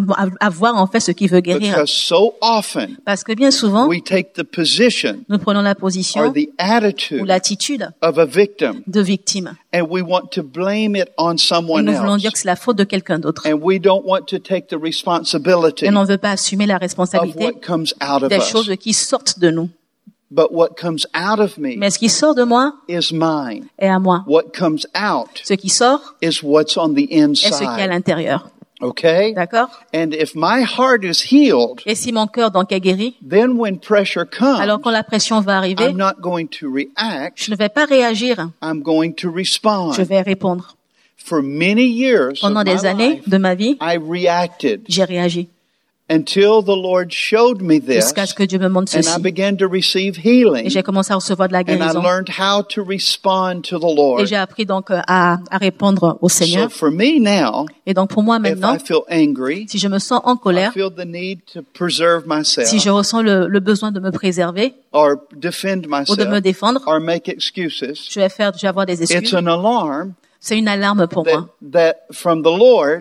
à voir en fait ce qu'il veut guérir. Because so often Parce que bien souvent, we take the position nous prenons la or position the ou attitude l'attitude of a victim, de victime. and we want to blame it on Et someone nous voulons else. dire que c'est la faute de quelqu'un d'autre. And we don't want to take the responsibility Et on ne veut pas assumer la of responsabilité what comes out of des us. choses qui sortent de nous. But what comes out of me Mais ce qui sort de moi is mine. est à moi. What comes out Ce qui sort is what's on the est ce qui est à inside. l'intérieur. Okay? D'accord? And if my heart is healed, Et si mon cœur donc est guéri, then when pressure alors comes, quand la pression va arriver, I'm not going to react, je ne vais pas réagir, I'm going to respond. je vais répondre. For many years of Pendant my des années life, de ma vie, I reacted j'ai réagi until the Lord showed me this, jusqu'à ce que Dieu me montre and I ceci. began to receive Et healing, j'ai commencé à recevoir de la and I guérison. learned how to respond to the Et Lord. j'ai appris donc à répondre au So Seigneur. for me now, Et donc pour moi if maintenant, I feel angry, si je me sens en I colère, feel the need to preserve myself, si je ressens le besoin de me préserver or defend ou de me myself, défendre, or make excuses, je vais avoir des it's excuses. an alarm C'est une alarme pour moi that from the Lord,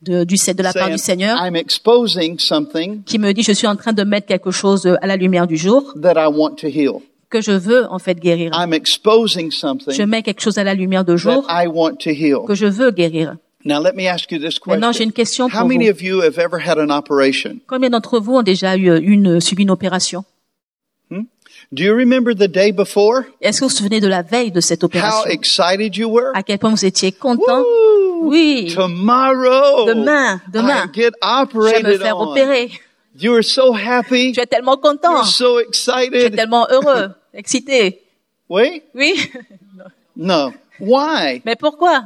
de la part du saying, Seigneur I'm exposing something qui me dit je suis en train de mettre quelque chose à la lumière du jour that I want to heal. que je veux en fait guérir. I'm exposing Je something mets quelque chose à la lumière de that jour I want to heal. que je veux guérir. Now let me ask you this Maintenant, j'ai question. une question How pour many vous. of you have ever had an operation? Combien d'entre vous ont déjà subi une opération? Do you remember the day before? Est-ce que vous vous souvenez de la veille de cette How opération? excited you were? À quel point vous étiez content? Woo! Oui. Tomorrow, Demain, I get je vais me operated faire on. opérer. You were so happy. Je suis tellement content. You're so Je suis excited. tellement heureux, excité. Wait, Oui. no. Why? Mais pourquoi?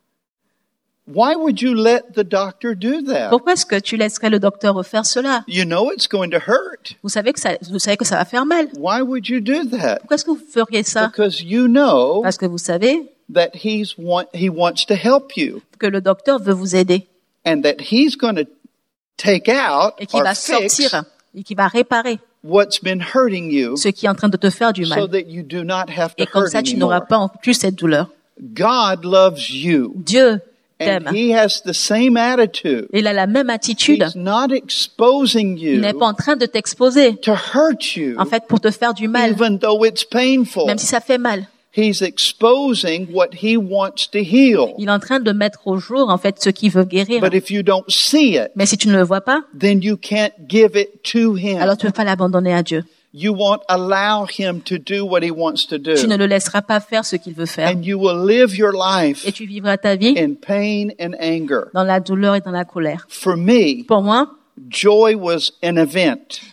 Why would you let the doctor do that? Pourquoi est-ce que tu laisserais le docteur faire cela? You know it's going to hurt. Vous savez que ça va faire mal. Why would you do that? Pourquoi est-ce que vous feriez ça? Because you know Parce que vous savez that he wants to help you, que le docteur veut vous aider and that he's going to take out et qu'il or va fix sortir et qu'il va réparer what's been hurting you, ce qui est en train de te faire du so mal. that you do not have to Et comme hurt ça, tu n'auras anymore. pas en plus cette douleur. God loves you, Dieu and t'aime. he has the same attitude. Il a la même attitude. He's not exposing Il n'est you pas en train de t'exposer, to hurt you, en fait, pour te faire du mal, even though it's painful. même si ça fait mal. He's exposing what he wants to heal. Il est en train de mettre au jour, en fait, ce qu'il veut guérir. But if you don't see it, Mais si tu ne le vois pas, then you can't give it to him. alors tu ne peux pas l'abandonner à Dieu. You won't allow him to do what he wants to Tu ne do. le laisseras pas faire ce qu'il veut faire. And you will live your Et life tu vivras ta vie in pain and anger. dans la douleur et dans la colère. For me, Pour moi, joy was an event.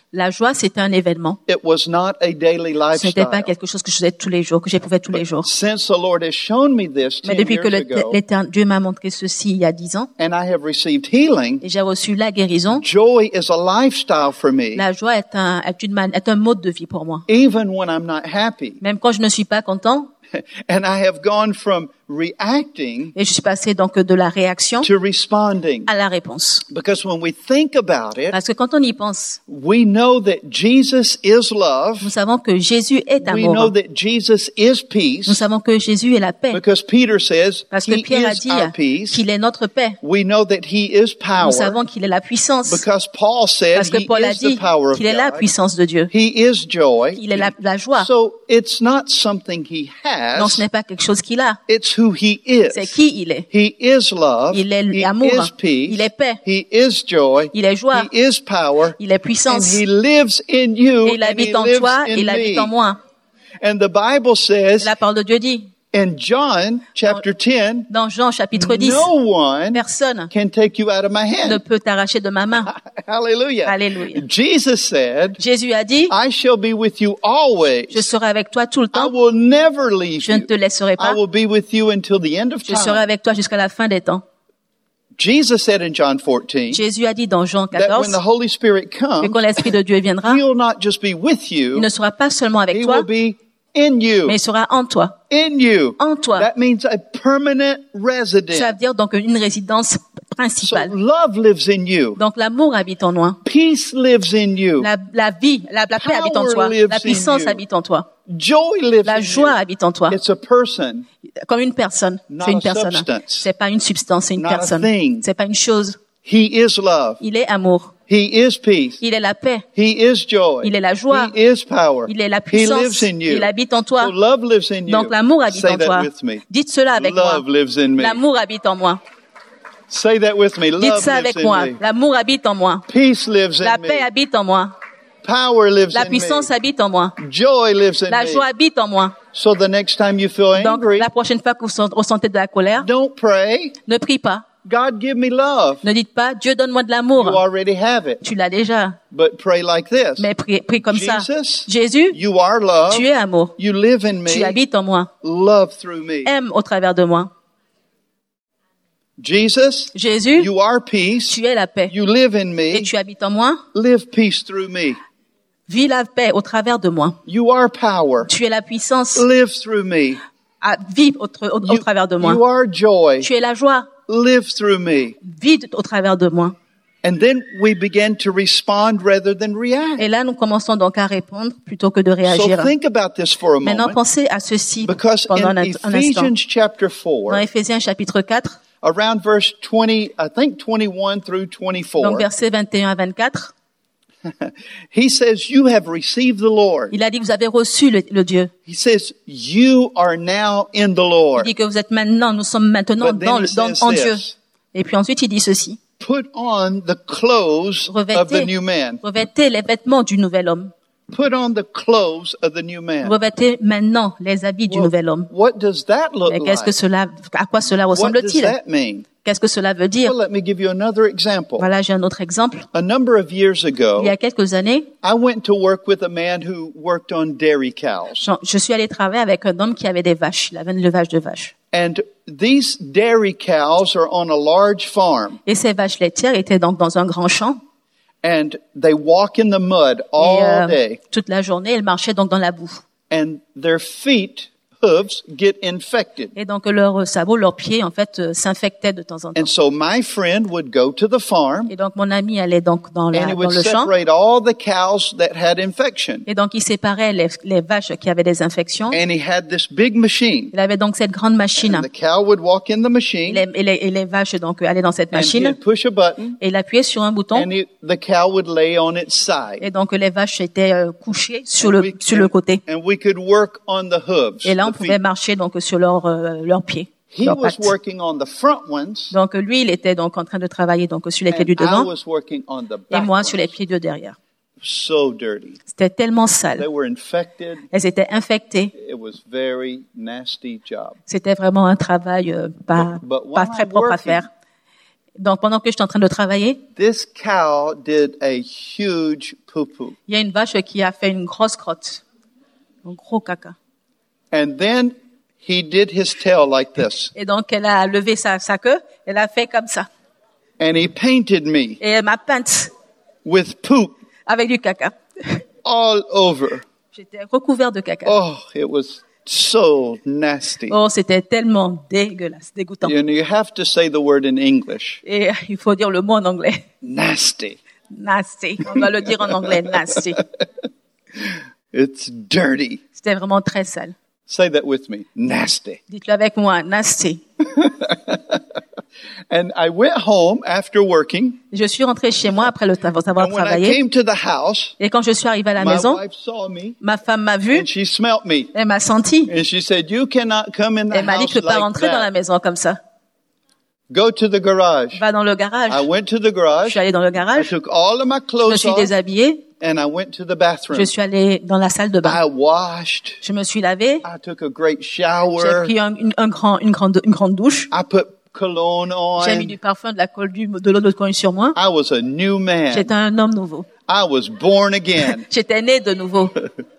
La joie, c'était un événement. It was not a daily Ce n'était pas lifestyle. quelque chose que je faisais tous les jours, que j'éprouvais tous les jours. Since the Lord has shown me this Mais 10 depuis que years ago, Dieu m'a montré ceci il y a 10 ans, and I have received healing, et j'ai reçu la guérison, joy is a lifestyle for me, la joie est un mode de vie pour moi. even when I'm not happy. Même quand je ne suis pas content, And I have gone from reacting et je suis passé donc de la réaction to responding. à la réponse. Because when we think about it, Parce que quand on y pense, we know that Jesus is love. nous savons que Jésus est We know amour. that Jesus is Nous peace. savons que Jésus est la paix. Because Peter says Parce que he Pierre a is dit our peace. qu'il est notre paix. We know that he is Nous power. savons qu'il est la puissance. Because Paul said Parce que he Paul a is dit the power of qu'il est la God. puissance de Dieu. He is joy. Il est la joie. So it's not something he Non, ce has. n'est pas quelque chose qu'il a. It's who he is. C'est qui il est. He is love. Il est He amour. is peace. Il est paix. He is joy. Il est joie. He is power. Il est And puissance. he lives in you Et il and he habite en lives toi et in il habite en me. moi. And the Bible Et says la parole de Dieu dit, in John chapter 10, dans Jean chapitre 10, no one personne can take you out of my ne hand. peut t'arracher de ma main. Hallelujah. Alléluia. Jesus said, Jésus a dit, I shall be with you always. je serai avec toi tout le I temps. will never leave Je ne te you. laisserai I pas. will be with you until the end of Je serai time. avec toi jusqu'à la fin des temps. Jesus said in John 14 Jésus a dit dans Jean that when 14 the Holy Spirit que comes, quand l'Esprit de Dieu viendra, He will not just be with il you, ne sera pas seulement avec He toi, will be in you. mais il sera en toi. In you. En toi. That means a permanent Ça resident. veut dire donc une résidence So principale. love lives in you. Donc l'amour habite en moi. Peace lives in you. La vie, la paix habite en Power toi. lives La puissance in you. habite en toi. Joy lives La in joie you. habite en toi. It's a person, Comme une personne. Not C'est une a personne. substance. C'est pas une substance, c'est une Not a personne. thing. C'est pas une chose. He is love. Il est amour. He is peace. Il est la paix. He is joy. Il est la joie. He is power. Il est la He puissance. lives in you. Il habite en toi. So love lives in you. Donc l'amour habite Say en that toi. with me. Dites cela avec moi. Love lives in me. L'amour habite en moi. Say that with me. Dites Love ça lives avec in moi. me. L'amour habite en moi. Peace lives La in paix me. habite en moi. Power lives La in puissance me. habite en moi. Joy lives in La joie me. habite en moi. So the next time you feel Donc angry, la prochaine fois que vous ressentez de la colère, don't pray, ne prie pas. God give me love. Ne dites pas, Dieu donne-moi de You l'amour. already have it. Tu l'as déjà. But pray like this. Mais prie comme ça. Jesus, Jésus, you are love. tu es amour. You live in Tu me. habites en moi. Love through me. Aime au travers de moi. Jesus, Jésus, you are peace. tu es la paix. You live in Et me. tu habites en moi. Live peace through me. Vis la paix au travers de moi. You are power. Tu es la puissance. Live through me. Vis au travers de You moi. are joy. Tu es la joie. Live through me. Vis au travers de moi. And then we begin to respond rather than react. Et là, nous commençons donc à répondre plutôt que de So réagir. think about this for a Maintenant, moment. pensez à ceci Because pendant in un instant. Ephesians chapter 4, Dans Éphésiens chapitre 4, around verse 20, I think 21 through donc 24, versets 21 à 24, he says, you have received the Lord. il a dit, vous avez reçu le Dieu. He says, you are now in the Il Lord. dit que nous sommes maintenant But then he says en Dieu. this, Et puis ensuite, il dit ceci. put on the clothes of the new man. Revêtez les vêtements du nouvel homme. Put on the clothes of the new man. Revêtez maintenant les habits du Well, nouvel homme. what does that look Mais qu'est-ce que like? à quoi cela What does ressemble-t-il? that mean? Qu'est-ce que cela veut dire? Well, let me give you another example. Voilà, j'ai un autre exemple. A number of years ago, Il y a quelques années, I went to work with a man who worked on dairy cows. je suis allée travailler avec un homme qui avait des vaches. Il avait une élevage de vaches. And these dairy cows are on a large farm. Et ces vaches laitières étaient donc dans un grand champ. And they walk in the mud Et all day. toute la journée, elles marchaient donc dans la boue. And their feet, hooves, get infected. Et donc leurs sabots, leurs pieds, en fait, s'infectaient de temps en temps. And so my friend would go to the farm Et donc mon ami allait donc dans and he dans would le champ. separate all the cows that had infection. Et donc il séparait les vaches qui avaient des infections. And he had this big machine. Il avait donc cette grande machine. And the cow would walk in the Et machine les vaches donc allaient dans cette and machine. he'd push a button Et il appuyait sur un bouton. and the cow would lay on its side. Et donc les vaches étaient couchées sur And le côté. and we could work on the hooves. Et là on the pouvait feet. marcher donc sur leurs pieds, He leurs was pattes. working on the front ones Donc lui il était donc en train de travailler donc sur les pieds and du I devant was working on the et back moi sur les ones. pieds de derrière. So dirty. C'était tellement They sale. were infected. Elles étaient infectées. It was very nasty job. C'était vraiment un travail pas But while pas très I'm propre à working, faire. Donc, pendant que j'étais en train de travailler, this cow did a huge poo-poo. il y a une vache qui a fait une grosse crotte. Un gros caca. And then he did his tail like this. Et donc, elle a levé sa queue, elle a fait comme ça. And he painted me Et elle m'a peinte with poop avec du caca. all over. J'étais recouvert de caca. Oh, it was so nasty. Oh, c'était tellement dégueulasse, dégoûtant. You know, you have to say the word in English. Et il faut dire le mot en anglais. Nasty. Nasty. On doit le dire en anglais, nasty. It's dirty. C'était vraiment très sale. Say that with me. Nasty. Dites-le avec moi, nasty. And I went home after working. Je suis rentrée chez moi après avoir And when I travaillé. came to the house, Et quand je suis arrivée à la my maison, wife saw me ma femme m'a vue, and she smelt me. elle m'a senti. And she said, you cannot come in the Elle m'a dit house que tu peux pas like rentrer dans la that. maison comme ça. Go to the garage. Va dans le garage. I went to the Je garage. suis allée dans le I garage. took all of my Je me clothes suis off déshabillée. and I went to the bathroom. Je suis allée dans la salle de bain. I washed. Je me suis lavée. I took a great J'ai shower. pris une grande douche. I put cologne J'ai mis on. du parfum, de l'eau de cologne sur moi. I was a new man. J'étais un homme nouveau. I was born again. J'étais né de nouveau.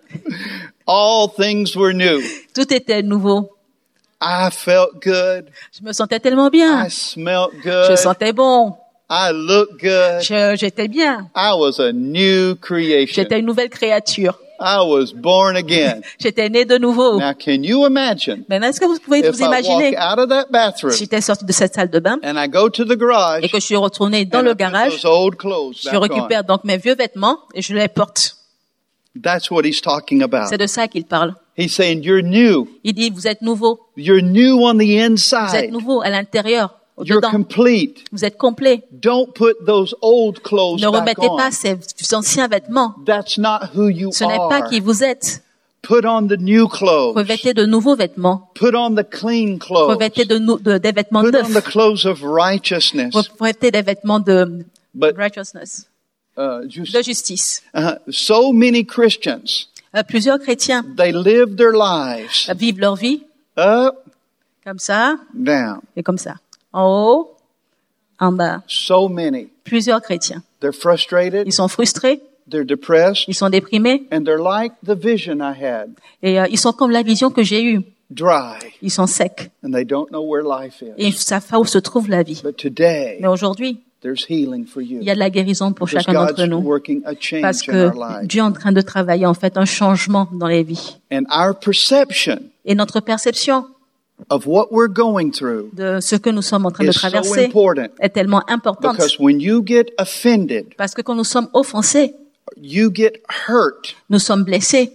All things were new. Tout était nouveau. I felt good. Je me sentais tellement bien. I smelled Je good. sentais bon. I looked good. J'étais bien. I was a new creation. J'étais une nouvelle créature. I was born again. J'étais né de nouveau. Now, can you imagine Maintenant, est-ce que vous pouvez if vous I imaginer walk out of that bathroom si j'étais sortie de cette salle de bain and I go to the garage et que je suis retournée dans and le I put garage, those old clothes je back on? récupère donc mes vieux vêtements et je les porte. That's what he's talking about. C'est de ça qu'il parle. He's saying you're new. Il dit, vous êtes nouveau. You're new on the Vous êtes inside. nouveau à l'intérieur, You're au-dedans. complete. Vous êtes complet. Don't put those old clothes Ne back remettez on. pas ces anciens vêtements. That's not who you Ce n'est pas are. qui vous êtes. Put on the new clothes. Revêtez de nouveaux vêtements. Put on the clean clothes. Revêtez des vêtements Put on the neufs. clothes of righteousness. Revêtez des vêtements de But righteousness, just, de justice. so many Christians, Plusieurs chrétiens they live their lives vivent leur vie up, comme ça down. et comme ça. En haut, en bas. So many. Plusieurs chrétiens. They're frustrated. Ils sont frustrés, They're depressed. ils sont déprimés And they're like the vision I had. et ils sont comme la vision que j'ai eue. Dry. Ils sont secs And they don't know where life is. et ils savent pas où se trouve la vie. But today, Mais aujourd'hui, there's healing for you. il y a de la guérison pour Because chacun d'entre God's nous. working a Parce change in que our lives. Dieu est en train de travailler en fait un changement dans les vies. And our perception Et notre perception of what we're going through de ce que nous sommes en train de is so traverser important. est tellement importante. Because when you get offended, Parce que quand nous sommes offensés, you get hurt, nous sommes blessés,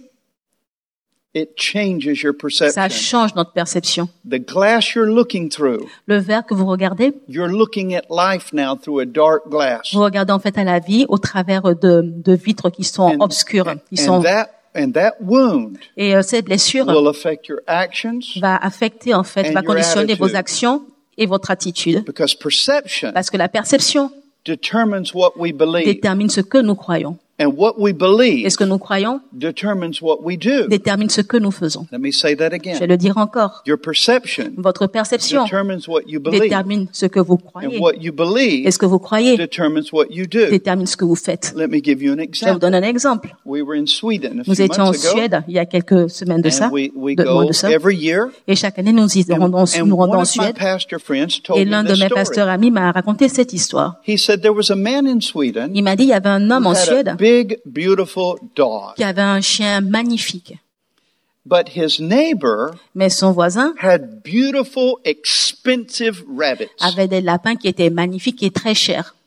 it changes your ça perception. change notre perception. The glass you're looking through, Le verre que vous regardez, you're looking at life now through a dark glass. vous regardez en fait à la vie au travers de vitres qui sont obscures, qui sont And that wound et cette blessure will affect your actions va affecter en fait, and va your conditionner attitude. vos actions et votre attitude, because perception parce que la perception determines what we believe. détermine ce que nous croyons. And what we Et believe ce que nous croyons determines what we do. détermine ce que nous faisons. Let me say that Je vais again. le dire encore. Your perception Votre perception determines what you believe. détermine ce que vous And croyez. what you believe Et ce que vous croyez determines what you do. détermine ce que vous faites. Let me give you an Je vais vous example. donner un exemple. We were in Sweden a Nous few étions en months ago. Suède il y a quelques semaines de ça, And we moins go de ça. every year. Et chaque année, nous rendons And nous rendons one en of my Suède. pastor friends told Et me l'un de this mes story. pasteurs amis m'a raconté cette histoire. He said there was a man in Sweden Il m'a dit il y avait un homme who en had a Suède big, beautiful dog. qui avait un chien magnifique. But his neighbor Mais son voisin had beautiful, expensive rabbits. avait des lapins qui étaient magnifiques et très chers.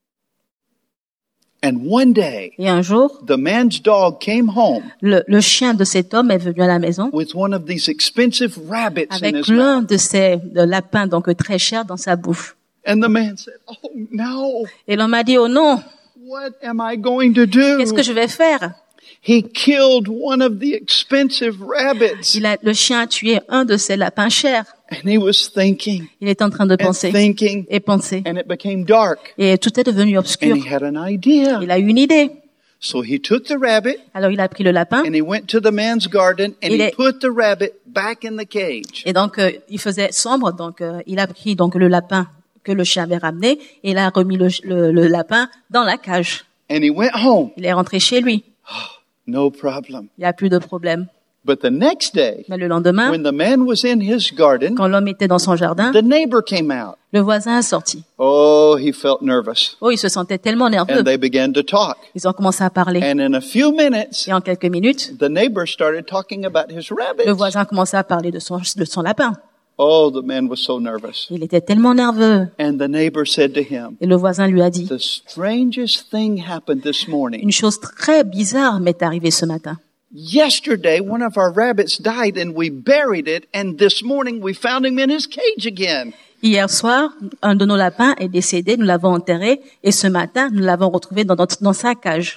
And one day, Et un jour, the man's dog came home le chien de cet homme est venu à la maison with one of these expensive rabbits in avec his mouth. l'un de ces lapins donc très chers dans sa bouche. And the man said, "Oh no, Et l'homme a dit, oh non, what am I going to do?" qu'est-ce que je vais faire? He killed one of the expensive rabbits. Le chien a tué un de ces lapins chers. And he was thinking Il est en train de and penser thinking, et penser. and it became dark. Et tout est devenu And obscur. he had an idea. Il a eu une idée. So he took the rabbit Alors il a pris le lapin and he went to the man's garden and Il he est- put the rabbit back in the cage. et donc il faisait sombre. Donc il a pris donc le lapin que le chien avait ramené et il a remis le lapin dans la cage. And he went home. Il est rentré chez lui. No problem. Il n'y a plus de problème. But the next day, Mais le lendemain, when the man was in his garden, quand l'homme était dans son jardin, the neighbor came out. le voisin est sorti. Oh, he felt nervous. Oh, il se sentait tellement nerveux. And they began to talk. Ils ont commencé à parler. And in a few minutes, Et en quelques minutes, the neighbor started talking about his le rabbits. voisin a commencé à parler de son lapin. Oh, the man was so nervous. Il était tellement nerveux. And the neighbor said to him, Et le voisin lui a dit, the strangest thing happened this morning. une chose très bizarre m'est arrivée ce matin. Yesterday, one of our rabbits died and we buried it, and this morning we found him in his cage again. Hier soir, un de nos lapins est décédé, nous l'avons enterré, et ce matin, nous l'avons retrouvé dans sa cage.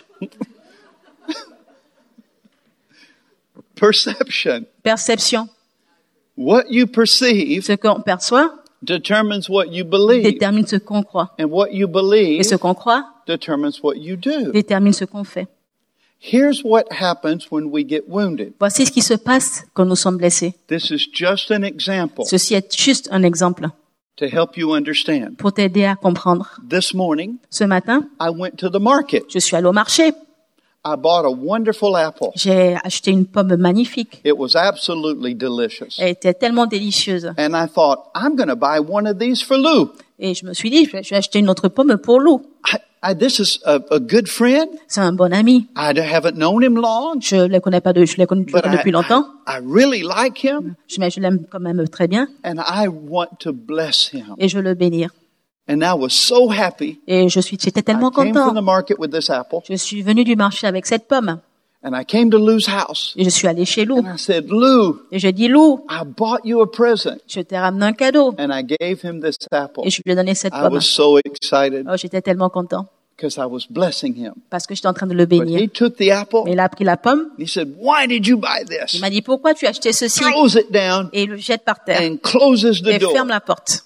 Perception. Perception. What you perceive Ce qu'on perçoit determines what you believe, détermine ce qu'on croit. and what you believe Et ce qu'on croit determines what you do. détermine ce qu'on fait. Here's what happens when we get wounded. Voici ce qui se passe quand nous sommes blessés. This is just an example Ceci est juste un exemple to help you understand. pour t'aider à comprendre. This morning, Ce matin, I went to the market. je suis allée au marché. I bought a wonderful apple. J'ai acheté une pomme magnifique. It was absolutely delicious. Elle était tellement délicieuse. And I thought, I'm going to buy one of these for Lou. Et je me suis dit, je vais acheter une autre pomme pour Lou. This is a good friend. C'est un bon ami. I haven't known him long, Je le connais pas je le connais but depuis longtemps. I really like him, Mais je l'aime quand même très bien. and I want to bless him. Et je veux le bénir. And I was so happy. Et j'étais tellement I came from the content. market with this apple, Je suis venue du marché avec cette pomme. and I came to Lou's house, Et je suis allée chez Lou. and I said, Lou, Et j'ai dit, Lou, I bought you a present. je t'ai ramené un cadeau. And I gave him this apple. Et je lui ai donné cette I pomme. was so excited Oh, j'étais tellement content. because I was blessing him. Parce que j'étais en train de le But bénir. he took the apple, Mais il a pris la pomme. and he said, why did you buy Il this? m'a dit, pourquoi tu as acheté ceci? Throws it down Et il le jette par terre. and closes the Et door. ferme la porte.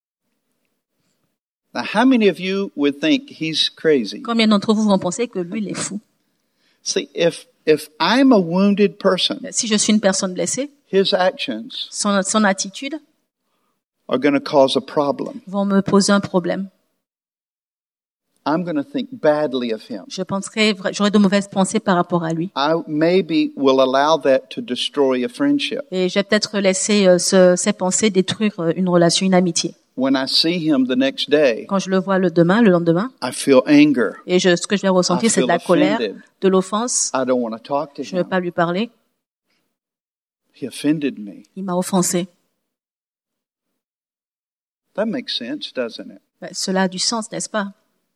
Now, how many of you would think he's crazy? Combien d'entre vous vont penser que lui, il est fou? See, if I'm a wounded person, Si je suis une personne blessée, his actions son attitude are going to cause a problem. vont me poser un problème. I'm going to think badly of him. J'aurai de mauvaises pensées par rapport à lui. I maybe will allow that to destroy a friendship. Et je vais peut-être laisser ces pensées détruire une relation, une amitié. When I see him the next day, Quand je le vois le lendemain, I feel anger. et ce que je vais ressentir, c'est de la colère, de l'offense. I don't want to talk to Je ne veux him. pas lui parler. He offended me. Il m'a offensé. That makes sense, doesn't it? Cela a du sens, n'est-ce pas?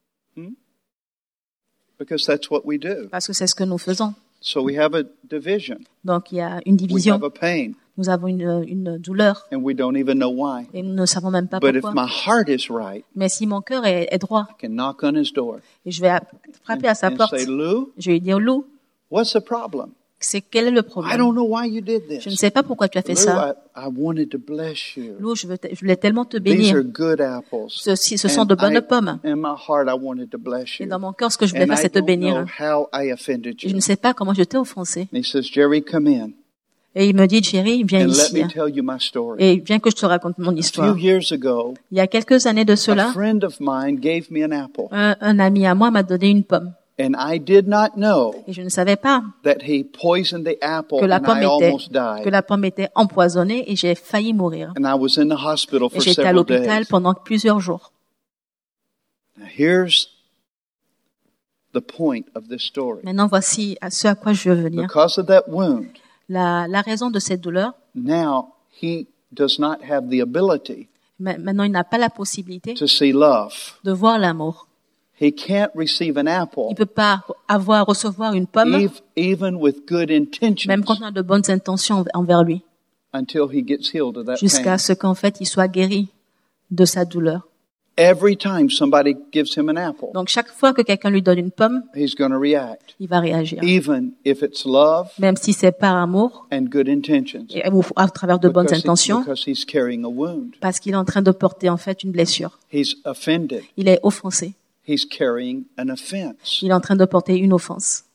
Because that's what we do. Parce que c'est ce que nous faisons. So we have a division. Donc il y a une We division. have a pain, Nous avons une douleur and we don't even know why. et nous ne savons même pas But if pourquoi. my heart is right, Mais si mon cœur est droit I can knock on his door et je vais frapper à sa and porte, say, Lou, je vais lui dire, Lou, what's the problem? quel est le I problème? don't know why you did Je ne this. sais pas pourquoi tu as fait Lou, ça. I wanted to bless you. Lou, je voulais tellement te These bénir. are good apples. Ce sont de bonnes pommes. In my heart, I wanted to bless Et you. dans mon cœur, ce que je voulais And faire, I c'est te don't know bénir. how I offended Et je you. ne sais pas comment je t'ai offensé. And he says, Jerry, come in Et il me dit, Jerry, viens and let ici. me tell you my story. Et viens que je te raconte mon A few histoire. years ago, Il y a quelques années de a cela, friend of mine gave me an apple, un ami à moi m'a donné une pomme. and I did not know Et je ne savais pas that he poisoned the apple, que la and pomme I almost que died. la pomme était empoisonnée et j'ai failli mourir. And I was in the hospital Et for j'étais à several l'hôpital days. pendant plusieurs jours. Now, here's the point of this story. Maintenant, voici à ce à quoi je veux venir. Because of that wound, La raison de cette douleur, now he does not have the ability maintenant, il n'a pas la possibilité to see love. de voir l'amour. He can't receive an apple, Il peut pas recevoir une pomme, even with good intentions, même quand on a de bonnes intentions envers lui, until he gets healed of that jusqu'à pain. ce qu'en fait, il soit guéri de sa douleur. Every time somebody gives him an apple, Donc, chaque fois que quelqu'un lui donne une pomme, he's going to react, il va réagir. even if it's love Même si c'est par amour, and good intentions, ou à travers de bonnes because intentions, because he's carrying a wound. parce qu'il est en train de porter en fait une blessure. He's offended. Il est offensé. He's carrying an offense. Il est en train de porter une offense.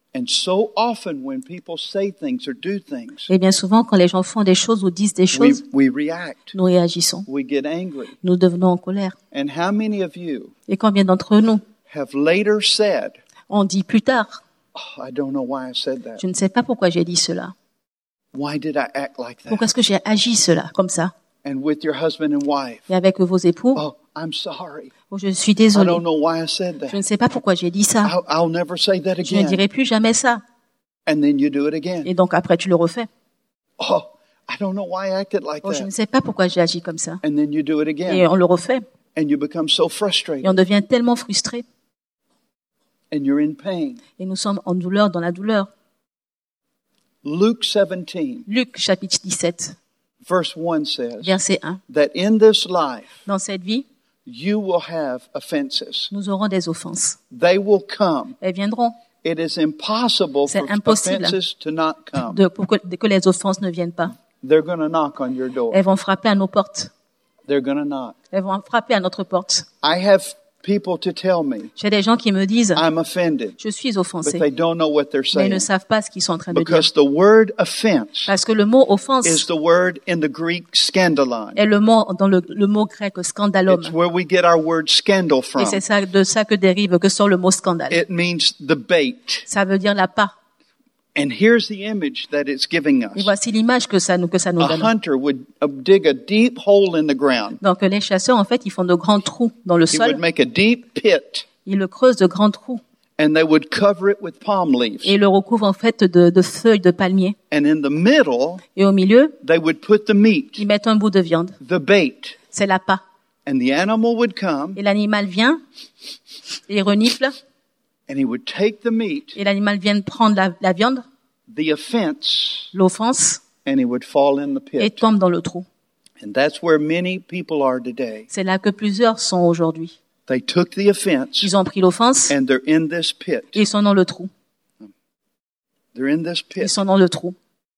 And so often when people say things or do things, Et bien souvent, quand les gens font des choses ou disent des choses, we react. nous réagissons. We get angry. Nous devenons en colère. And how many of you Et combien d'entre nous, have later said, on dit plus tard, oh, I don't know why I said that. je ne sais pas pourquoi j'ai dit cela. Why did I act like Pourquoi that? est-ce que j'ai agi cela, comme ça? And with your husband and wife, Et avec vos époux, oh, I'm sorry. oh, je suis I désolée. don't know why I said Je ne that. sais pas pourquoi j'ai dit ça. I'll never say that Je ne again. dirai plus jamais ça. And then you do it again. Et donc après, tu le refais. Oh, I don't know why I acted like Oh, je ne that. sais pas pourquoi j'ai agi comme ça. And then you do it Et again. on le refait. And you become so Et frustrated. on devient tellement frustré. And you're in pain. Et nous sommes en douleur, dans la douleur. Luke 17, Luc, chapitre 17, verse 1 says verset 1. that in this life Dans cette vie, you will have offenses. nous aurons des offenses. They will come. Elles viendront It is impossible C'est for impossible. offenses to not come. pour que les offenses ne viennent pas. They're going to knock on your door. Elles vont frapper à nos portes. They're going to knock. Elles vont frapper à notre porte. I have people to tell me J'ai des gens qui me disent, I'm offended, je suis but offensé, they don't know what they're mais ils ne saying. savent pas ce qu'ils sont en train de dire. Because the word offense Parce que le mot is offense the word in the Greek scandalon. est le mot dans le mot grec scandalum. It's where we get our word scandal Et from. c'est ça, de ça que sort le mot scandale. It means the bait. Ça veut dire l'appât. And here's the image that it's giving Et us. voici l'image que ça nous A donne. hunter would dig a deep hole in the ground. Donc les chasseurs, en fait, ils font de grands trous dans le He would sol. make a deep pit, Ils le creusent de grands trous. and they would cover it with palm leaves. Et ils le recouvrent en fait de feuilles de palmier. And in the middle, Et au milieu, they would put the meat, ils mettent un bout de viande. the bait. C'est l'appât. And the animal would come, Et l'animal vient, et il renifle, and he would take the meat, et l'animal vient prendre la viande, the offense, l'offense, and he would fall in the et pit. tombe dans le trou. And that's where many people are today. C'est là que plusieurs sont aujourd'hui. They took the offense, Ils ont pris l'offense, and they're in this pit. et ils sont dans le trou. They're in this Ils pit. sont dans le trou.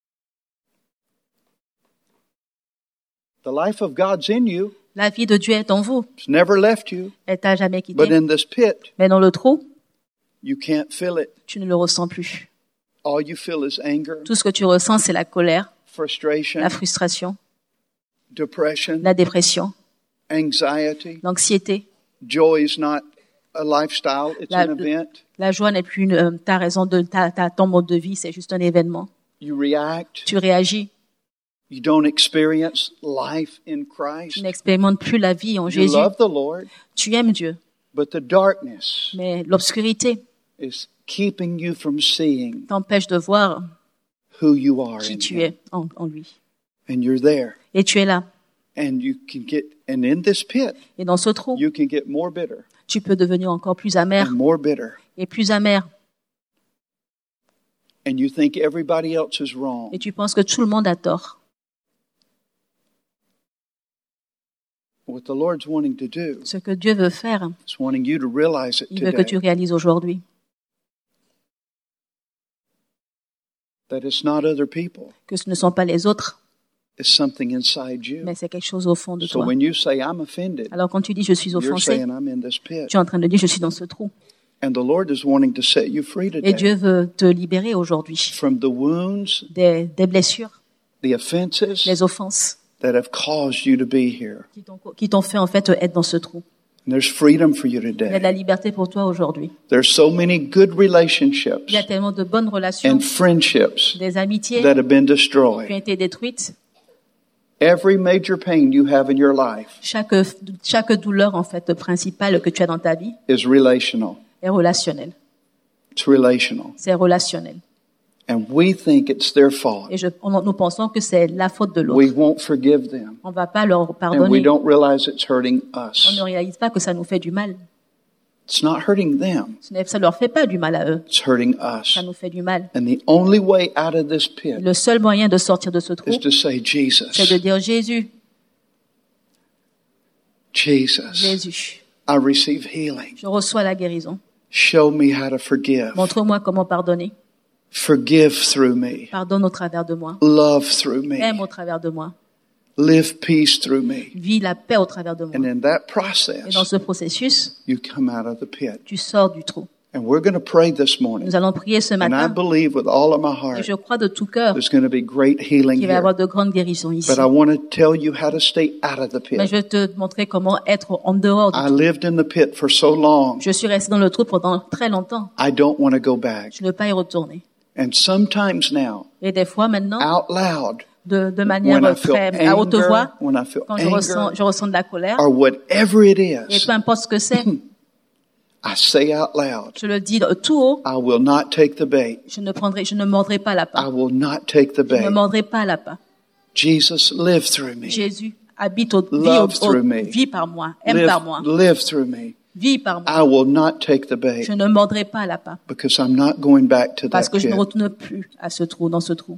The life of God's in you. La vie de Dieu est en vous. It's never left you. Elle t'a jamais But quitté. in this pit, Mais dans le trou, you can't feel it. tu ne le ressens plus. All you feel is anger, Tout ce que tu ressens, c'est la colère, frustration, la frustration, depression, la dépression, anxiety. l'anxiété. Joy is not a lifestyle, it's La- an event. La joie n'est plus ta raison ton mode de vie, c'est juste un événement. You react. Tu réagis. You don't experience life in Tu Christ. n'expérimentes plus la vie en You Jésus. love the Lord, Tu aimes Dieu. but the darkness Mais l'obscurité is keeping you from seeing t'empêche de voir who you are qui in tu Him. es en lui. And you're there. Et tu es là. And you can get, and in this pit, Et dans ce trou, you can get more bitter tu peux devenir encore plus amer and more bitter. et plus amer. And you think everybody else is wrong. Et tu penses que tout le monde a tort. What the Lord's wanting to do Ce que Dieu veut faire, is wanting you to realize it il veut que tu today. réalises aujourd'hui. That it's not other people. Que ce ne sont pas les autres, It's something inside you. mais c'est quelque chose au fond de So toi. when you say, I'm offended, Alors quand tu dis je suis you're offensé, saying, I'm in this pit. tu es en train de dire je suis dans ce trou. And the Lord is wanting to set you free Et today Dieu veut te libérer aujourd'hui from the wounds, des blessures, the offenses les offenses that have caused you to be here. qui t'ont fait en fait être dans ce trou. And there's freedom for you Il y a de la today. liberté pour toi aujourd'hui. There's so many good relationships Il y a tellement de bonnes relations, and friendships des amitiés that have been qui ont destroyed. été détruites. Every major pain you have in your life Chaque douleur en fait principale que tu as dans ta vie is relational. est relationnelle. It's relational. C'est relationnel. And we think it's their fault. Et nous pensons que c'est la faute de We l'autre. won't forgive them. On va pas leur And we pardonner. don't realize it's hurting On us. ne réalise pas que ça nous fait du mal. It's not hurting them. Ça leur fait pas du mal à eux. It's hurting us. Ça nous fait du mal. And the only way out of this pit Le seul moyen de sortir de ce trou, is to say, c'est Jesus, de dire Jésus, Jesus, Jésus, I receive healing. je reçois la guérison. Show me how to forgive. Montre-moi comment pardonner. Forgive through me. Pardonne au travers de moi. Love through Aime me. au travers de moi. Live peace through me. Vis la paix au travers de moi. And in that Et dans process, ce processus, you come out of the pit. tu sors du trou. And we're going to pray this morning. Nous allons prier ce And I matin. believe with all of my Et heart je crois de tout cœur there's going to be great healing qu'il va y avoir here. de grandes guérisons ici. But I want to tell you how to stay out of the Mais je pit. vais te montrer comment être en dehors du I trou. lived in the pit for so long. Je suis resté dans le trou pendant très longtemps. I don't want to go back. Je ne veux pas y retourner. And sometimes now, Et des fois maintenant, out loud, de manière when I feel très à haute anger, voix, when I feel quand anger, je ressens de la colère, or whatever it et is, peu importe ce que c'est, I say out loud, je le dis tout haut, I will not take the bait. je ne mordrai pas la I part. will not take the Je ne bait. mordrai pas la part. Jesus, live through me. Jésus habite Love through me. vit par moi, aime par moi, Live through me. vit par moi. I will not take the bait Je ne mordrai pas la part because I'm not going back to parce that que je ne pit. retourne plus à ce trou, dans ce trou.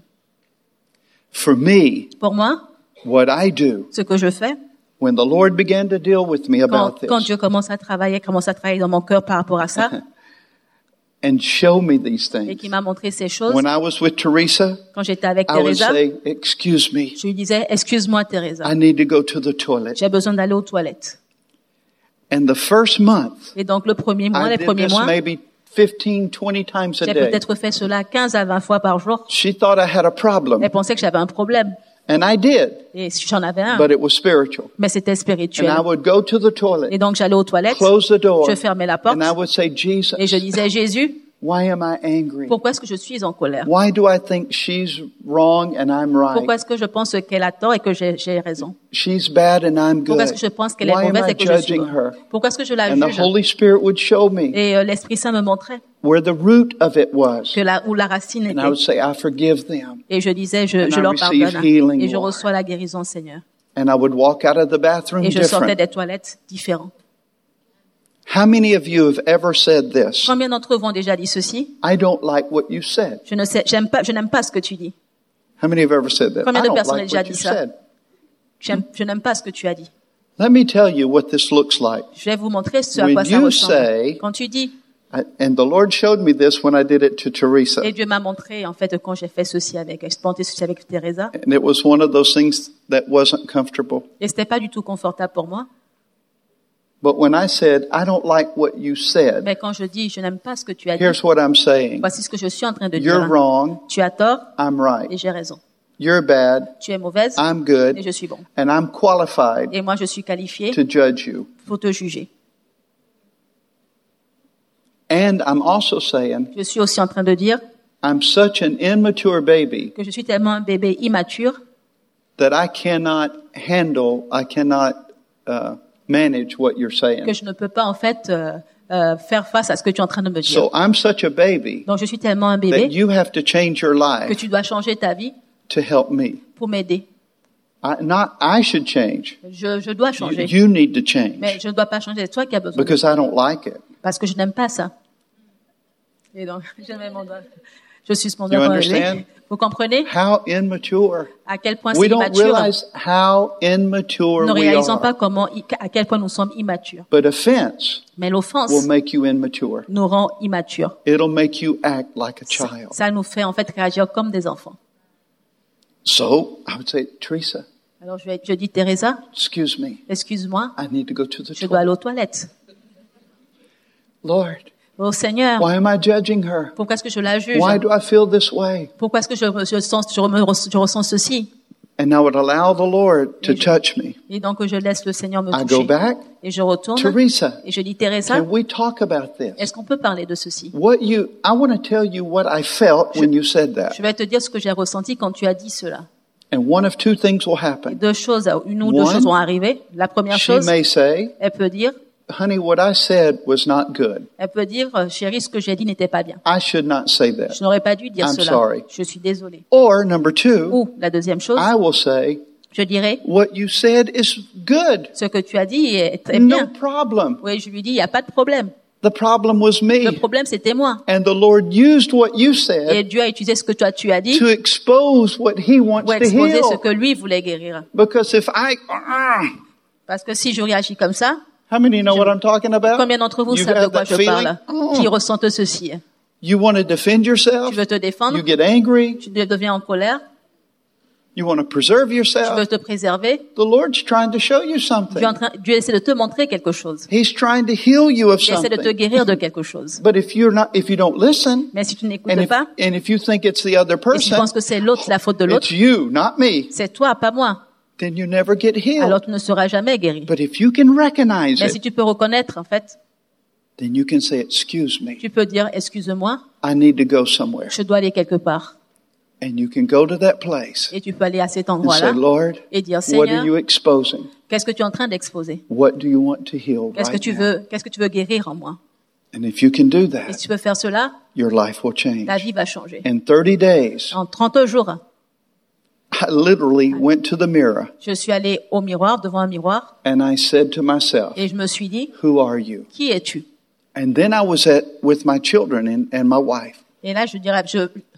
For me, Pour moi, what I do, ce que je fais, when the Lord began to deal with me about quand this Dieu commence à travailler dans mon cœur par rapport à ça, and show me these et things, qui m'a montré ces choses, when I was with Teresa, quand j'étais avec I would Teresa, say, excuse me, je lui disais, excuse-moi Teresa, I need to go to the toilet. j'ai besoin d'aller aux toilettes. And the first month, Et donc les premiers I did this mois, maybe 15, 20 times a j'ai day. peut-être fait cela 15 à 20 fois par jour. She thought I had a problem, Elle pensait que j'avais un problème. and I did, Et j'en avais un. but it was spiritual. Mais c'était And spirituel. I would go to the Et toilet, donc j'allais aux toilettes, close the door, je fermais la porte, and I would say, Jesus, et je disais, Jésus, why am I angry? pourquoi est-ce que je suis en colère? Why do I think she's wrong and I'm Pourquoi right? est-ce que je pense qu'elle a tort et que j'ai raison? She's bad and I'm Pourquoi good. est-ce que je pense qu'elle est Why am mauvaise I et que je suis judging her? bonne? Pourquoi est-ce que je la And the juge? Holy Spirit would show me Et l'Esprit Saint me montrait where the root of it was. où la racine And I would était. say, I forgive them. Et je disais, je I leur receive pardonne. healing, Et je Lord. reçois la guérison, Seigneur. And I would walk out of the bathroom Et je sortais different. des toilettes différentes. How many of you have ever said this? Combien d'entre vous ont déjà dit ceci? I don't like what you said. Je n'aime pas ce que tu dis. How many have ever said that? Combien I de don't personnes ont like déjà what dit you ça? said. Je n'aime pas ce que tu as dit. Let me tell you what this looks like. Je vais vous montrer ce à When quoi ça you ressemble. say- Quand tu dis, And the Lord showed me this when I did it to Teresa. et Dieu m'a montré, en fait, quand j'ai fait ceci expérimenté ceci avec Teresa, And it was one of those things that wasn't comfortable. et c'était pas du tout confortable pour moi. But when I said, I don't like what you said, Mais quand je dis, je n'aime pas ce que tu as dit, here's what I'm saying. voici ce que je suis en train de You're dire. wrong, Tu as tort I'm et right. j'ai raison. You're bad, Tu es mauvaise I'm et good, je suis bon. and I'm qualified Et moi, je suis qualifié to judge you. pour te juger. And I'm also saying, Je suis aussi en train de dire I'm such an immature baby que je suis tellement un bébé immature that I cannot manage what you're que saying. je ne peux pas, en fait, faire face à ce que tu es en train de me dire. So I'm such a baby Donc, je suis tellement un that bébé you have to change your que life tu dois changer ta vie to help me. pour m'aider. I should change. Je dois changer. You need to Mais change je ne dois pas changer. C'est toi qui as besoin. because I don't like it. Parce que je n'aime pas ça. Et donc, je mets mon doigt. Je suis mon You doigt understand? relevé. Vous comprenez How immature. à quel point c'est We don't immature? realize how immature Nous ne we réalisons pas are. à quel point nous sommes immatures. But offense Mais l'offense will make you immature. nous rend immatures. It'll make you act like a Ça, child. ça nous fait en fait réagir comme des enfants. So I would say, Teresa, Alors je dis, Teresa, excuse me. excuse-moi, I need to go to the je dois aller toilet. aux toilettes. Lord, Oh Seigneur, why am I judging her? pourquoi est-ce que je la juge? Why do I feel this way? Pourquoi est-ce que je ressens ceci? And I would allow the Lord to Et je- touch me. Et donc je laisse le Seigneur me I go toucher. back. Et je retourne. Teresa, Et je dis, Teresa, can we talk about this? est-ce qu'on peut parler de ceci? I want to tell you what I felt when you said that. Je vais te dire ce que j'ai ressenti quand tu as dit cela. And one of two things will Et happen. une ou deux One, choses vont arriver. La première She chose, may say, elle peut dire, honey, what I said was not good. chérie, ce que j'ai dit n'était pas bien. I should not say that. Je n'aurais pas dû dire I'm cela. sorry. Je suis désolée. Or number two, Ou la deuxième chose, I will say, je dirais, what you said is good. ce que tu as dit est très No bien. problem. Oui, je lui dis, il n'y a pas de problème. The problem was Le me. problème, c'était moi. And the Lord used what you Et said Dieu a utilisé ce que tu as dit to expose what He wants pour to exposer ce heal. que lui voulait guérir. Because if Parce que si je réagis comme ça, how many know what I'm talking about? combien d'entre vous You savent de have quoi that je parle? feeling? Qui ressentent ceci? You want to defend yourself? Tu veux te défendre? You get angry? Tu deviens en colère? You want to preserve Tu veux yourself. te préserver. The Lord's trying to show you something. Dieu essaie de te montrer quelque chose. He's trying to heal you of Il essaie de te something. guérir de quelque chose. But if you don't listen, Mais si tu n'écoutes and pas, if you think it's the other et tu person, penses que c'est l'autre, la faute de l'autre, it's you, not me, c'est toi, pas moi, then you never get alors healed. tu ne seras jamais guéri. But if you can recognize Mais si it, tu peux reconnaître, en fait, then you can say, excuse me, tu peux dire, excuse-moi, I need to go somewhere. je dois aller quelque part. And you can go to that place Et tu peux aller à cet and say, endroit-là Lord, et dire, what are Seigneur, you exposing? qu'est-ce que tu es en train d'exposer? What do you want to heal Qu'est-ce que right tu veux guérir en moi? now? And if you can do Et that, si tu peux faire cela, your life will change. ta vie va changer. In 30 days, En 30 jours, I literally went to the mirror je suis allée au miroir, devant un miroir, and I said to myself, et je me suis dit, who are you? qui es-tu? And then I was with my children and my wife. Et là, je dirais,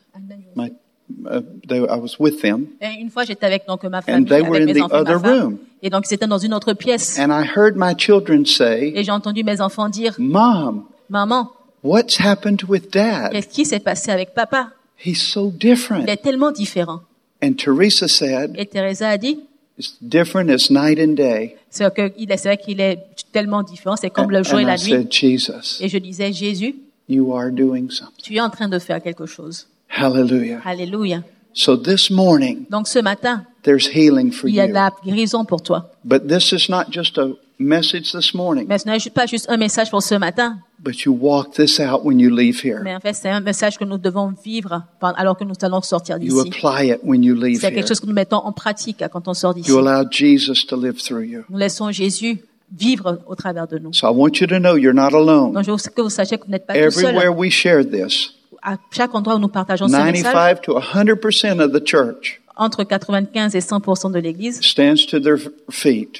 I was with them, et une fois, j'étais avec donc ma and famille, they were avec in mes the enfants, other ma femme, room. et donc c'était dans une autre pièce. And I heard my children say, Et j'ai entendu mes enfants dire, Mom, maman, what's happened with Dad? qu'est-ce qui s'est passé avec papa? He's so Il different. est tellement différent. And Teresa said, Et Teresa a dit, it's different as night and day. c'est vrai qu'il est tellement différent, c'est comme le jour et And la I nuit. said, Jesus, Et je disais, Jésus, you are doing something. tu es en train de faire quelque chose. Hallelujah. Alléluia. So this morning, Donc ce matin, there's healing for il y a de you. la guérison pour toi. But this is not just a message this morning, Mais ce n'est pas juste un message pour ce matin, but you walk this out when you leave here. mais en fait c'est un message que nous devons vivre alors que nous allons sortir You d'ici. apply it when you leave C'est here. quelque chose que nous mettons en pratique quand on sort d'ici. You allow Jesus to live through you. Nous laissons Jésus vivre au travers de nous. So I want you to know you're not alone. Donc je veux que vous sachiez que vous n'êtes pas tout seul. Everywhere we share this, À chaque endroit où nous partageons ce message, 95 to 100% of the church entre 95 et 100% de l'Église, stands to their feet.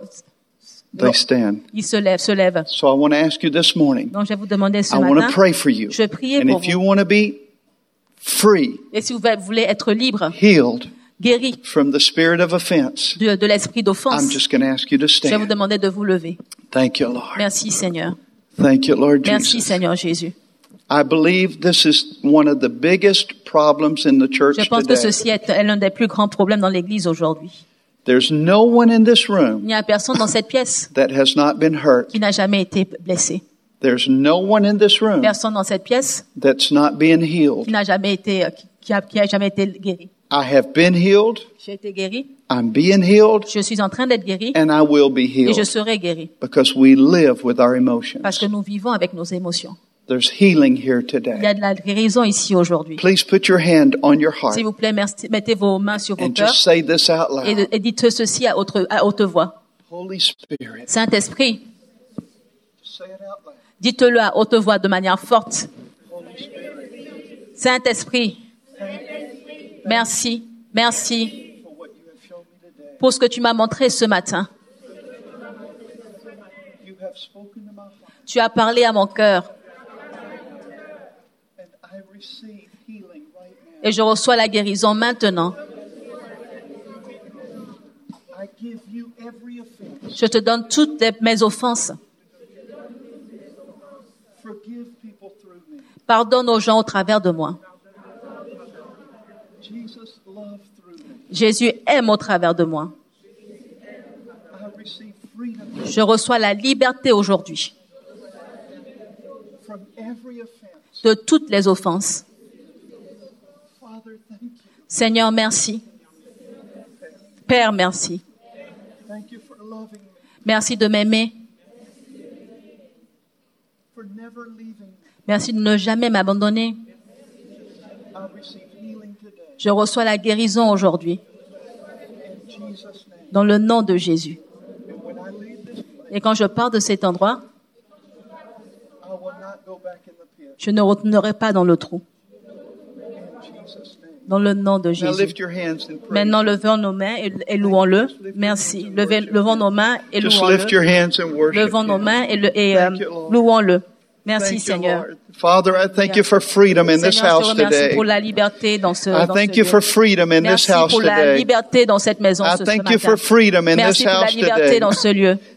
They stand. ils se lèvent. So I want to ask you this morning. Donc je vais vous demander ce I want to matin, pray for you. je vais prier And pour if you vous. want to be free, Et si vous voulez être libre, healed guéri from the spirit of offense, de l'esprit d'offense, I'm just going to ask you to je vais vous stand. demander de vous lever. Thank you, Lord. Merci Seigneur. Thank you, Lord Merci Jesus. Seigneur Jésus. I believe this is one of the biggest problems in the church Je pense que today. ceci est l'un des plus grands problèmes dans l'Église aujourd'hui. There's no one in this Il room n'y a personne dans cette pièce that has not been hurt. qui n'a jamais été blessé. There's no one in this room Personne dans cette pièce that's not being qui healed. n'a jamais été, qui a jamais été guéri. I have been healed. J'ai été guéri. I'm being healed. Je suis en train d'être guéri And I will be et je healed serai guéri because we live with our emotions. parce que nous vivons avec nos émotions. There's healing here Il y today. a de la guérison ici aujourd'hui. Please put your hand on your heart S'il vous plaît, mettez vos mains sur vos and cœurs just say this out loud. et dites ceci à haute voix. Holy Spirit. Saint-Esprit, Say it out loud. dites-le à haute voix de manière forte. Holy Spirit. Saint-Esprit, merci, merci For what you have shown me today. pour ce que tu m'as montré ce matin. You have spoken to my heart Tu as parlé à mon cœur and I receive healing right now. et je reçois la guérison maintenant. I give you every offense. Je te donne toutes mes offenses. Forgive people through me. Pardonne aux gens au travers de moi. Jesus, love through me. Jésus aime au travers de moi. I receive freedom Je reçois la liberté aujourd'hui from every offense. de toutes les offenses. Father, thank you. Seigneur, merci. Père, merci. Thank you for loving me, Merci de m'aimer. for never leaving me. Merci de ne jamais m'abandonner. I receive healing today. Je reçois la guérison aujourd'hui In Jesus' name. dans le nom de Jésus. And when I leave this place, Et quand je pars de cet endroit, I will not go back in the pit. je ne retournerai pas dans le trou. In Jesus' name. Dans le nom de Now Jésus. lift your hands and pray. Maintenant, levons nos mains et louons-le. Merci. Levons nos mains et Just lift your louons-le. hands and worship. Levons nos Him. mains et Thank you, Lord. louons-le. Merci, Thank you, Seigneur. Lord. Father, I thank you for freedom in this Seigneur, je house te remercie today. pour la liberté dans ce, I dans ce thank you lieu. for freedom in this Merci house pour la today. liberté dans cette maison I ce thank matin. you for freedom in this Merci pour la house liberté today. dans ce lieu.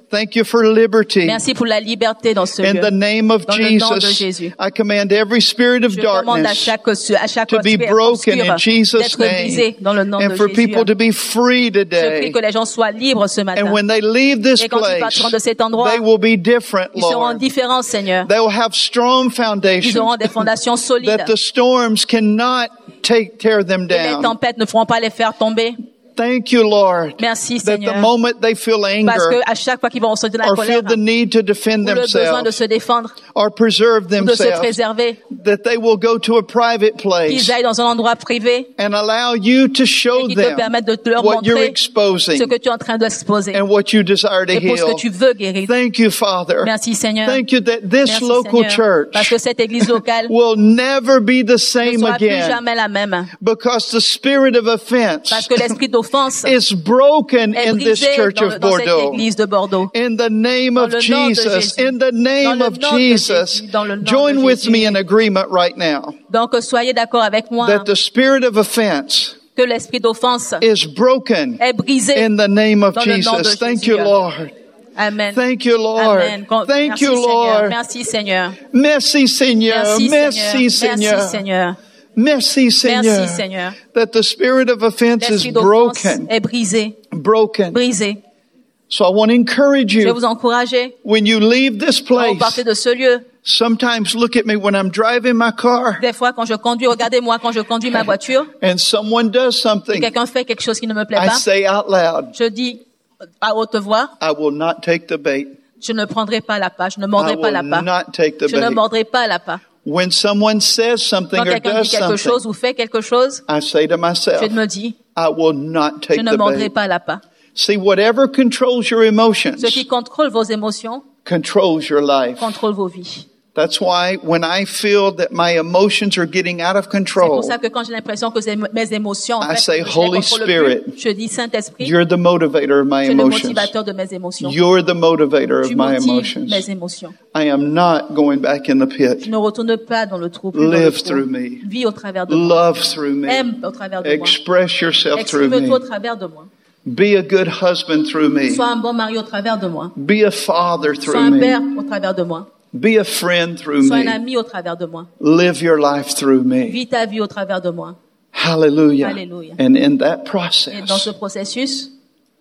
Thank you for liberty. Merci pour la liberté dans ce In lieu. the name of Dans le nom de Jesus, Jésus. I command every spirit of Je demande à darkness chaque to be esprit broken in obscur Jesus' d'être brisé name, dans le nom and de for Jésus. people to be free Je prie today. que les gens soient libres ce matin. And when they leave this Et quand ils place, partiront de cet endroit, they will be different, ils seront Lord. différents, Seigneur. They will have strong Ils foundations auront des fondations solides. that the storms cannot tear them Et les down. tempêtes ne feront pas les faire tomber. Thank you, Lord, Merci, that the Seigneur. moment they feel Parce anger que à chaque fois qu'ils vont ressentir la or colère, feel the need to defend ou le besoin de themselves se défendre, or preserve ou de se themselves, préserver, that they will go to a private place qu'ils aillent dans un endroit privé and allow you to et show qu'ils te them permettent de leur what you're montrer exposing ce que tu es en train d'exposer and what you desire to et pour ce que heal. tu veux guérir. Thank you, Father. Merci, Seigneur. Thank you that this Merci, local Seigneur. Parce church que cette église locale will never be the ne same sera plus again jamais la même. because the spirit of Parce offense que l'esprit d'offense is broken est in this brisé church of dans cette Bordeaux. église de Bordeaux. In the name Dans of le nom de Jesus, Jésus. in the name Dans le of nom de Jesus, Jésus. Dans le nom join de with Jésus. me in agreement right now Donc, soyez d'accord avec moi that the spirit of offense que l'esprit d'offense is broken est brisé in the name of dans le nom de Jesus. Thank Jésus. you, Lord. Amen. Thank you, Lord. Amen. Thank Merci, you, Seigneur. Lord. Merci, Seigneur. Merci, Seigneur. Merci, Merci, Seigneur. Seigneur. Merci, Merci, Seigneur. Seigneur. Merci, Seigneur. That the spirit of offense is L'esprit d'offense broken. est brisé. Broken. Brisé. So I want to encourage Je vais you vous encourager. when you leave this Quand vous partez place. de ce lieu, Sometimes look at me when I'm driving my car des fois quand je conduis, regardez-moi quand je conduis ma voiture, and someone does et something. quelqu'un fait quelque chose qui ne me plaît I pas, say out loud, je dis à haute voix, I will not take the bait. je ne prendrai pas la pas, je ne I mordrai pas la will pas. not take the Je ne bait. mordrai pas la pas. When someone says something Quand or quelqu'un does dit quelque chose something, ou fait quelque chose, I say to myself, je me dis, I will not je take ne the mordrai bait. pas la pas. See, whatever controls your emotions Ce qui contrôle vos émotions, controls your life. contrôle vos vies. That's why when I feel that my emotions are getting out of C'est control, pour ça que quand j'ai l'impression que mes émotions, en I fait, say, je les Holy contrôle Spirit, plus, je dis Saint-Esprit, you're the motivator of my tu es le emotions. motivateur de mes émotions. You're the motivator Tu of my motives emotions. mes émotions. I am not going back in the Je pit. ne retourne pas dans le trou, plus dans le Live trou. through me. Vis au travers de moi. Love through me. Aime au travers de moi. Express yourself through Exprime-toi au me. travers de moi. Be a good husband through me. Sois un bon mari au travers de moi. Be a father Sois through un me. père au travers de moi. Be a friend through Sois un me. ami au travers de moi. Live your life through me. Vis ta vie au travers de moi. Hallelujah. Hallelujah. And in that Et dans ce process, processus,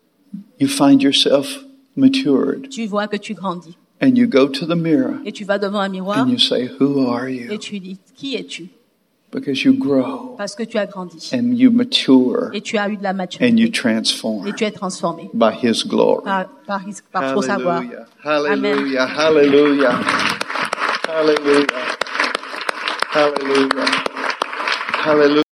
you find yourself matured. tu vois que tu grandis. And you go to the mirror Et tu vas devant un miroir and you say, who are et you? tu dis, qui es-tu? Because you grow Parce que tu as grandi. and you mature Et tu as eu de la and you maturité. Et transform tu es transformé by His glory. par son savoir. Hallelujah. Hallelujah. Hallelujah. Hallelujah. Hallelujah. Hallelujah.